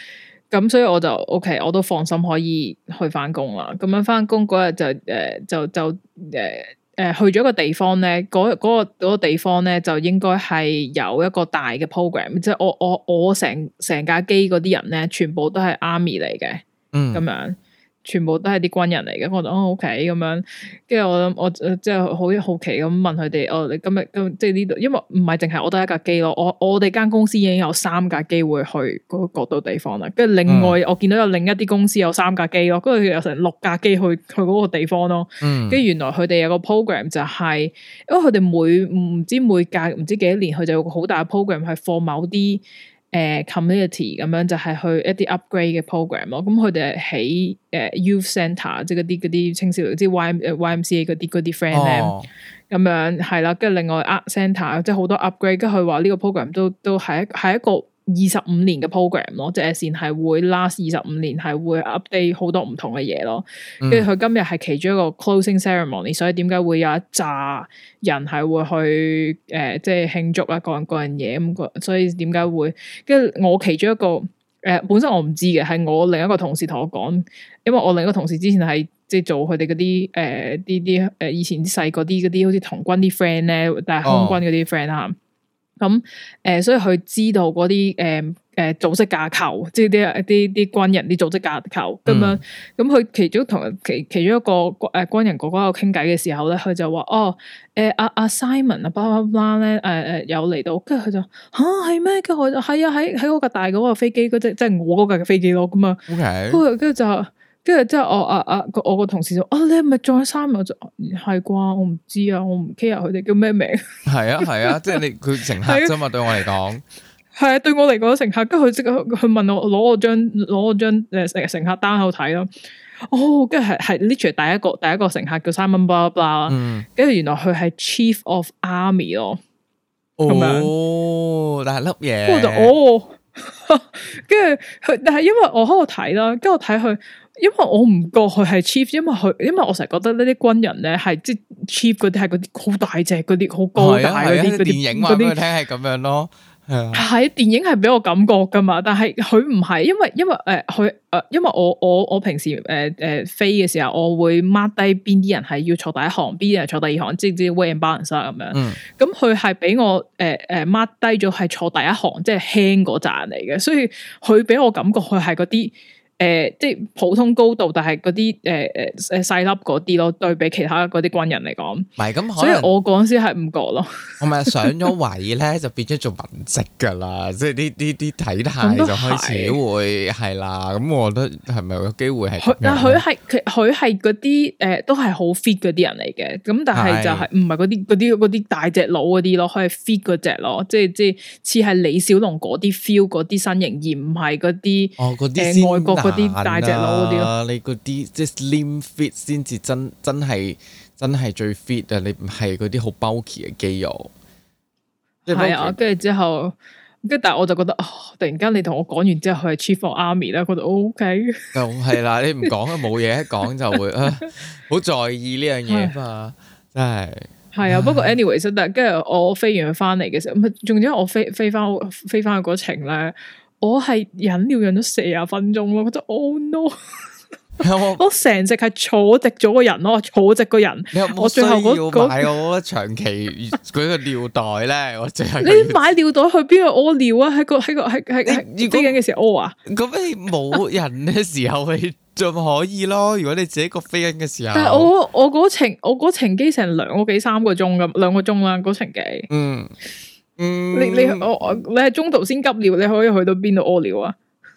咁所以我就 OK， 我都放心可以去翻工啦。咁樣翻工嗰日就去咗一個地方咧，嗰個地方咧就應該係有一個大嘅 program， 即係我成架機嗰啲人咧，全部都係 army 嚟嘅，咁樣。全部都係啲軍人嚟嘅，我就OK 咁樣，跟住我即係好好奇咁問佢哋，你今日即係呢度，因為唔係淨係我得一架機咯，我哋間公司已經有3架機會去嗰度地方啦，跟住另外我見到有另一啲公司有3架機咯，跟住有成6架機去嗰個地方咯，跟住原來佢哋有個 program 就係，因為佢哋每隔唔知幾多年，佢就有個好大嘅 program 係放某啲。community 咁樣就係去一啲 upgrade 嘅 program 咯，咁佢哋係喺youth centre 即係嗰啲青少年，即係 YMCA 嗰啲 friend 咧，咁樣係啦，跟住另外 art centre 即係好多 upgrade，跟住佢話呢個 program 都係一個25年嘅 program 咯，即係線係會 last 25年，係會 update 好多唔同嘅嘢咯。跟住佢今日係其中一個 closing ceremony，所以點解會有一紮人係會去即係慶祝啊，各樣嘢咁，所以點解會？跟住我其中一個本身我唔知嘅，係我另一個同事同我講，因為我另一個同事之前係即係做佢哋嗰啲啲以前啲細個啲好似童軍啲 friend 咧，但係空軍嗰啲 friend 啊。咁所以佢知道嗰啲組織架構，即係啲軍人啲組織架構咁樣。咁佢其中一個軍人哥哥喺度傾偈嘅時候咧，佢就話阿 Simon 啊，blah blah blah 咧有嚟到，跟住佢就係咩？跟住我就係啊，喺嗰架大嗰個飛機嗰隻，即係我嗰架嘅飛機咯。咁啊，跟住之後我個同事就你係咪再三？我就係啩，我唔知啊，我唔 care 佢哋叫咩名。係
啊，即係佢乘客啫嘛，對我嚟講
係啊，對我嚟講乘客，跟住佢即刻佢問我攞我張乘客單喺度睇咯。跟住係 literally 第一個乘客叫 Simon blah blah，跟住原來佢係 Chief of Army 咯。咁樣
但係粒嘢，
跟住就跟住佢，但係因為我喺度睇啦，跟住我睇佢。因為我唔覺佢係 chief，因為我成日覺得呢啲軍人咧係即係 chief 嗰啲係嗰啲好大隻嗰啲好高大嗰啲
電影話俾佢聽係咁樣咯，
係電影係俾我感覺噶嘛，但係佢唔係，因為我平時飛嘅時候，我會 mark 低邊啲人係要坐第一行，邊啲人坐第二行，即係 weigh and balance 咁樣。咁佢係俾我mark 低咗係坐第一行，即係輕嗰陣嚟嘅，所以佢俾我感覺佢係嗰啲。即係普通高度，但係嗰啲細粒嗰啲咯，對比其他嗰啲軍人嚟講，唔係咁，所以我嗰陣時係唔覺咯。
我咪上咗位咧，就變咗做文職噶啦，即係啲體態就開始會係啦。咁我覺得係咪有機會係？
但係佢係嗰啲都係好 fit 嗰啲人嚟嘅。咁但係就係唔係嗰啲大隻佬嗰啲咯，佢係 fit 嗰隻咯，即係似係李小龍嗰啲 feel 嗰啲身形，而唔係嗰啲外國。嗰啲大隻佬嗰啲咯，
你嗰啲即係 slim fit 先至真係最 fit 啊！你唔係嗰啲好 bulky 嘅肌肉。
係啊，跟住之後，但係我就覺得，突然間你同我講完之後，佢係 Chief of Army 咧，覺得 OK。
就係啦，你唔講啊，冇嘢一講就會好在意呢樣嘢嘛，真係。
係啊，不過 anyways，但係跟住我飛完翻嚟嘅時候，仲有我飛翻去嗰程咧。我係忍尿忍咗40分鐘咯，我覺得 oh no！ 我成隻係坐直咗個人咯，坐直個人。
你有冇需要買我長期嗰個尿袋咧？我淨係
你買尿袋去邊度屙尿啊？喺飛緊嘅時候屙啊？
咁你冇人嘅時候你仲可以咯。如果你自己個飛緊嘅時候，
但係我嗰程機成2個幾3個鐘咁，2個鐘啦嗰程機。你係中途先急尿，你可以去到邊度屙尿啊？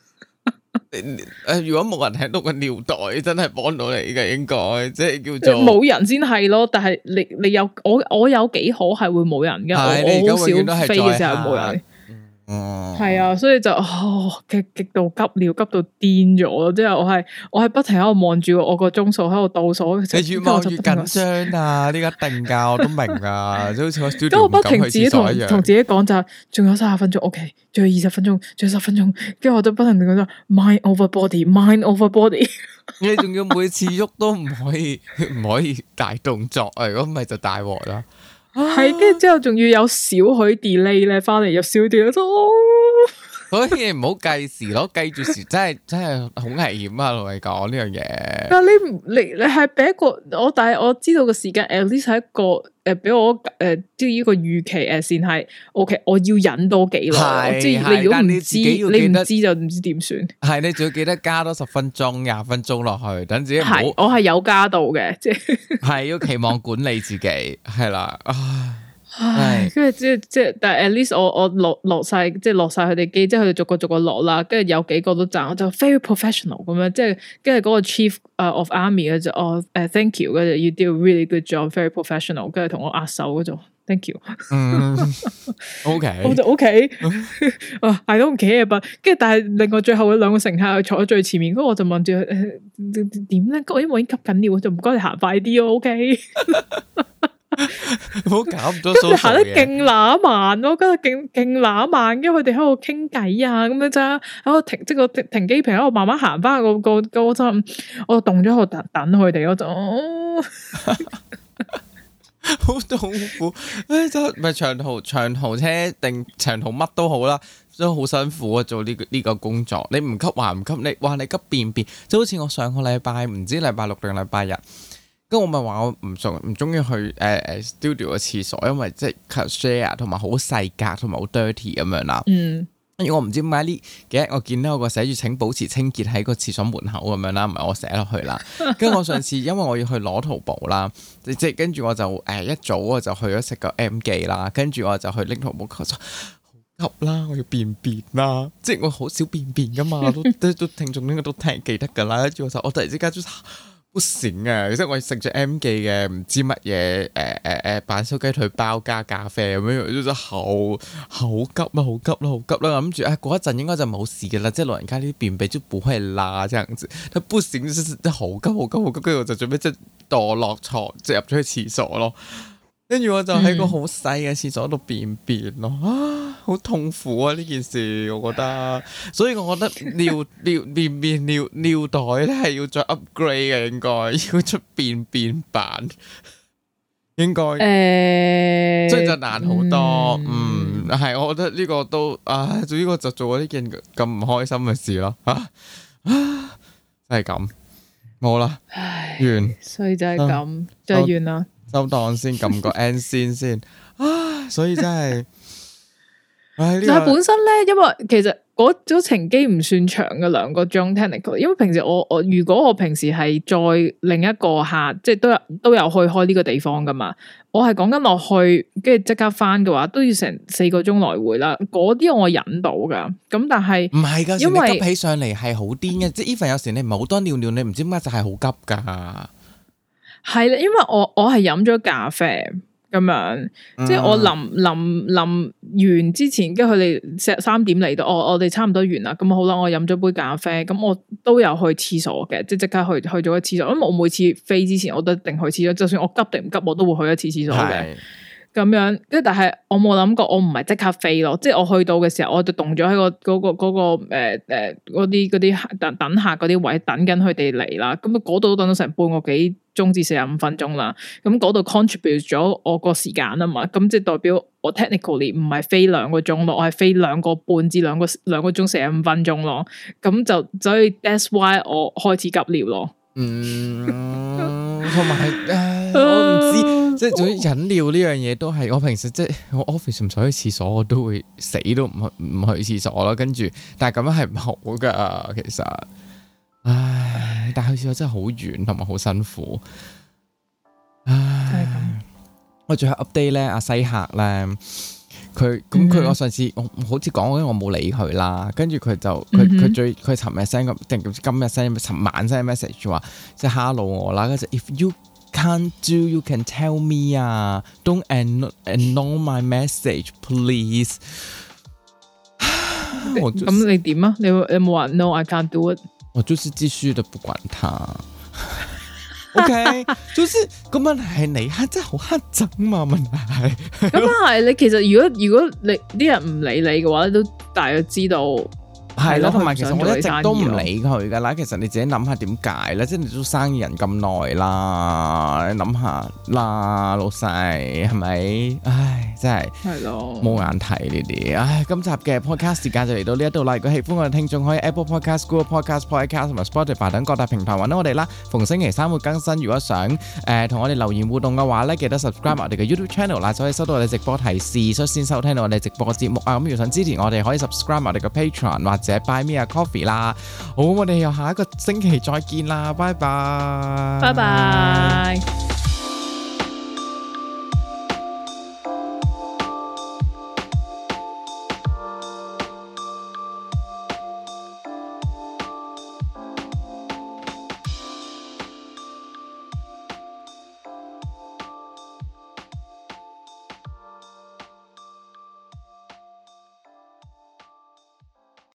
如果冇人喺度個尿袋，真係幫到你嘅，應該即係叫做
冇人先係咯。但係你有我有幾可係會冇人嘅，我好少飛嘅時候冇人。係啊，所以就極度急尿，急到癲咗咯！即係我係不停喺度望住我個鐘數喺度倒數，
你越望越緊張啊！呢個定價我都明啊，就好似我 studio
咁我不停自己同自己講就係，仲有30分鐘 ，OK， 仲有20分鐘，仲有10分鐘，跟住我就不停咁講 mind over body，mind over body。
你仲要每次喐都唔可以大動作啊！如果唔係就大鑊啦。
係，跟住之後仲要有少許 delay 咧，翻嚟有少啲，
所以唔好計時咯，計住時真係好危險啊！同你講呢樣嘢。
但你係俾一個但係我知道個時間 at least 係一個俾我即係呢個預期先係 OK， 我要忍多幾耐？即係你如果唔知，你唔知就唔知點算。係
你仲要記得加多10分鐘、20分鐘落去，等自己唔好。
我係有加到嘅，即係係
要期望管理自己，係啦。
唉，跟住即係，但係 at least 我落晒，即係落晒佢哋機，即係佢哋逐個落啦，跟住有幾個都讚，我就 very professional 咁樣，即係跟住嗰個 chief of army 就thank you，跟住 you do a really good job，very professional， 跟住同我握手嗰種 thank you。
OK，
我就 OK，I don't care，跟住但係另外最後嗰2個乘客坐喺最前面，嗰個我就問住佢點咧？因為我已經吸緊尿，我就唔該你行快啲咯 ，OK。
唔好搞咁多，佢
行得勁乸慢咯，跟住勁乸慢，因為佢哋喺度傾偈啊，咁樣咋喺度停，即係個停機坪喺度慢慢行翻個陣，我就凍咗喺度等佢哋，我就
好痛苦，真係咪長途車定長途乜都好啦，都好辛苦啊！做呢個工作，你唔吸還唔吸，你急便便，就好似我上個禮拜唔知禮拜6定禮拜日。咁我咪話我唔中意去studio 嘅廁所，因為即係 share 同埋好細格同埋好 dirty 咁樣啦。跟住我唔知點解呢幾日我見到有個寫住請保持清潔喺個廁所門口咁樣啦，唔係我寫落去啦。跟住我上次因為我要去攞淘寶啦，即係跟住我就一早我就去咗食個 M 記啦，跟住我就去拎淘寶，我就好急啦，我要便便啦，即係我好少便便噶嘛，都聽眾應該都記得噶啦。跟住我突然之間好閃啊！即係我食咗 M 記嘅唔知乜嘢板燒雞腿包加咖啡咁樣，真係好急啦，好急啦，好急啦！諗住過一陣應該就冇事嘅啦，即係老人家呢啲便秘就不會啦，這樣子。但不閃，真係好急，跟住我就準備即係墮落床，即係入咗去廁所咯。跟住我就喺個好細嘅廁所度便便咯，好痛苦啊！呢件事我覺得，所以我覺得尿袋咧係要再 upgrade 嘅，應該要出便版，應該，所以就難好多。係，我覺得呢個都做呢個就做咗呢件咁唔開心嘅事咯，真係咁，冇啦，完，
所以就係咁，就係完啦。
收檔先，撳個 end 先，所以真係，
但係本身咧，因為其實嗰組程機唔算長嘅2個鐘 technical， 因為平時我如果我平時係再另一個客，即係都有去開呢個地方噶嘛，我係講緊落去，跟住即刻翻嘅話，都要成4個鐘來回啦。嗰啲我忍到噶，咁但係
唔係噶，因為急起上嚟係好癲嘅，即係 even 有時你唔係好多尿，你唔知點解就係好急噶。
係啦，因為我係飲咗咖啡咁樣，即係我臨完之前，跟住佢哋3點嚟到，我哋差唔多完啦，咁好啦，我飲咗杯咖啡，咁我都有去廁所嘅，即刻去咗個廁所，因為我每次飛之前我都一定去廁所，就算我急定唔急，我都會去一次廁所嘅。咁樣，跟住但係我冇諗過，我唔係即刻飛咯，即係我去到嘅時候，我就凍咗喺嗰啲等客嗰啲位等緊佢哋嚟啦。咁嗰度都等咗成半個幾鐘至45分鐘啦。咁嗰度 contribute 咗我個時間啊嘛。咁即係代表我 technically 唔係飛2個鐘咯，我係飛2個半至2個鐘45分鐘咯。咁所以 that's why 我開始急尿咯。
同埋我唔知，即係總之飲料呢樣嘢都係我平時即係我 office 唔使去廁所，我都會死都唔去廁所啦。跟住，但係咁樣係唔好噶，其實，但係去廁所真係好遠同埋好辛苦。我最後 update 咧，阿西客咧。佢我上次我好似講嗰啲我冇理佢啦，跟住佢就佢尋日 send 個定今日 send 尋晚 send message 話即係 hello 我啦，跟住 if you can't do you can tell me don't ignore my message please。
咁你點啊？你有冇話 no I can't do it？
我就是繼續的不管他。OK， 就是個問題係你真係好黑整嘛，問題係咁
係你其實如果你啲人唔理你嘅話，你都大約知道
係咯。同埋其實我一直都唔理佢噶啦。其實你自己諗下點解咧？即係你做生意人咁耐啦，你諗下啦，老細係咪？唉。 真係
係咯，
冇眼睇呢啲。唉，今集嘅 podcast 時間就嚟到呢一度啦。如果喜歡我哋聽眾，可以 Apple Podcast、Google Podcast、Podcast 同埋 Spotify 等各大平台揾到我哋啦。逢星期三會更新。如果想同我哋留言互動嘅話咧，記得 subscribe 我哋嘅 YouTube channel 啦，就可以收到我哋直播提示，率先收聽到我哋直播嘅節目啊。咁如果想支持我哋，可以 subscribe 我哋嘅 Patreon 或者 Buy Me a Coffee 啦。好，我哋又下一個星期再見啦，拜拜，
拜拜。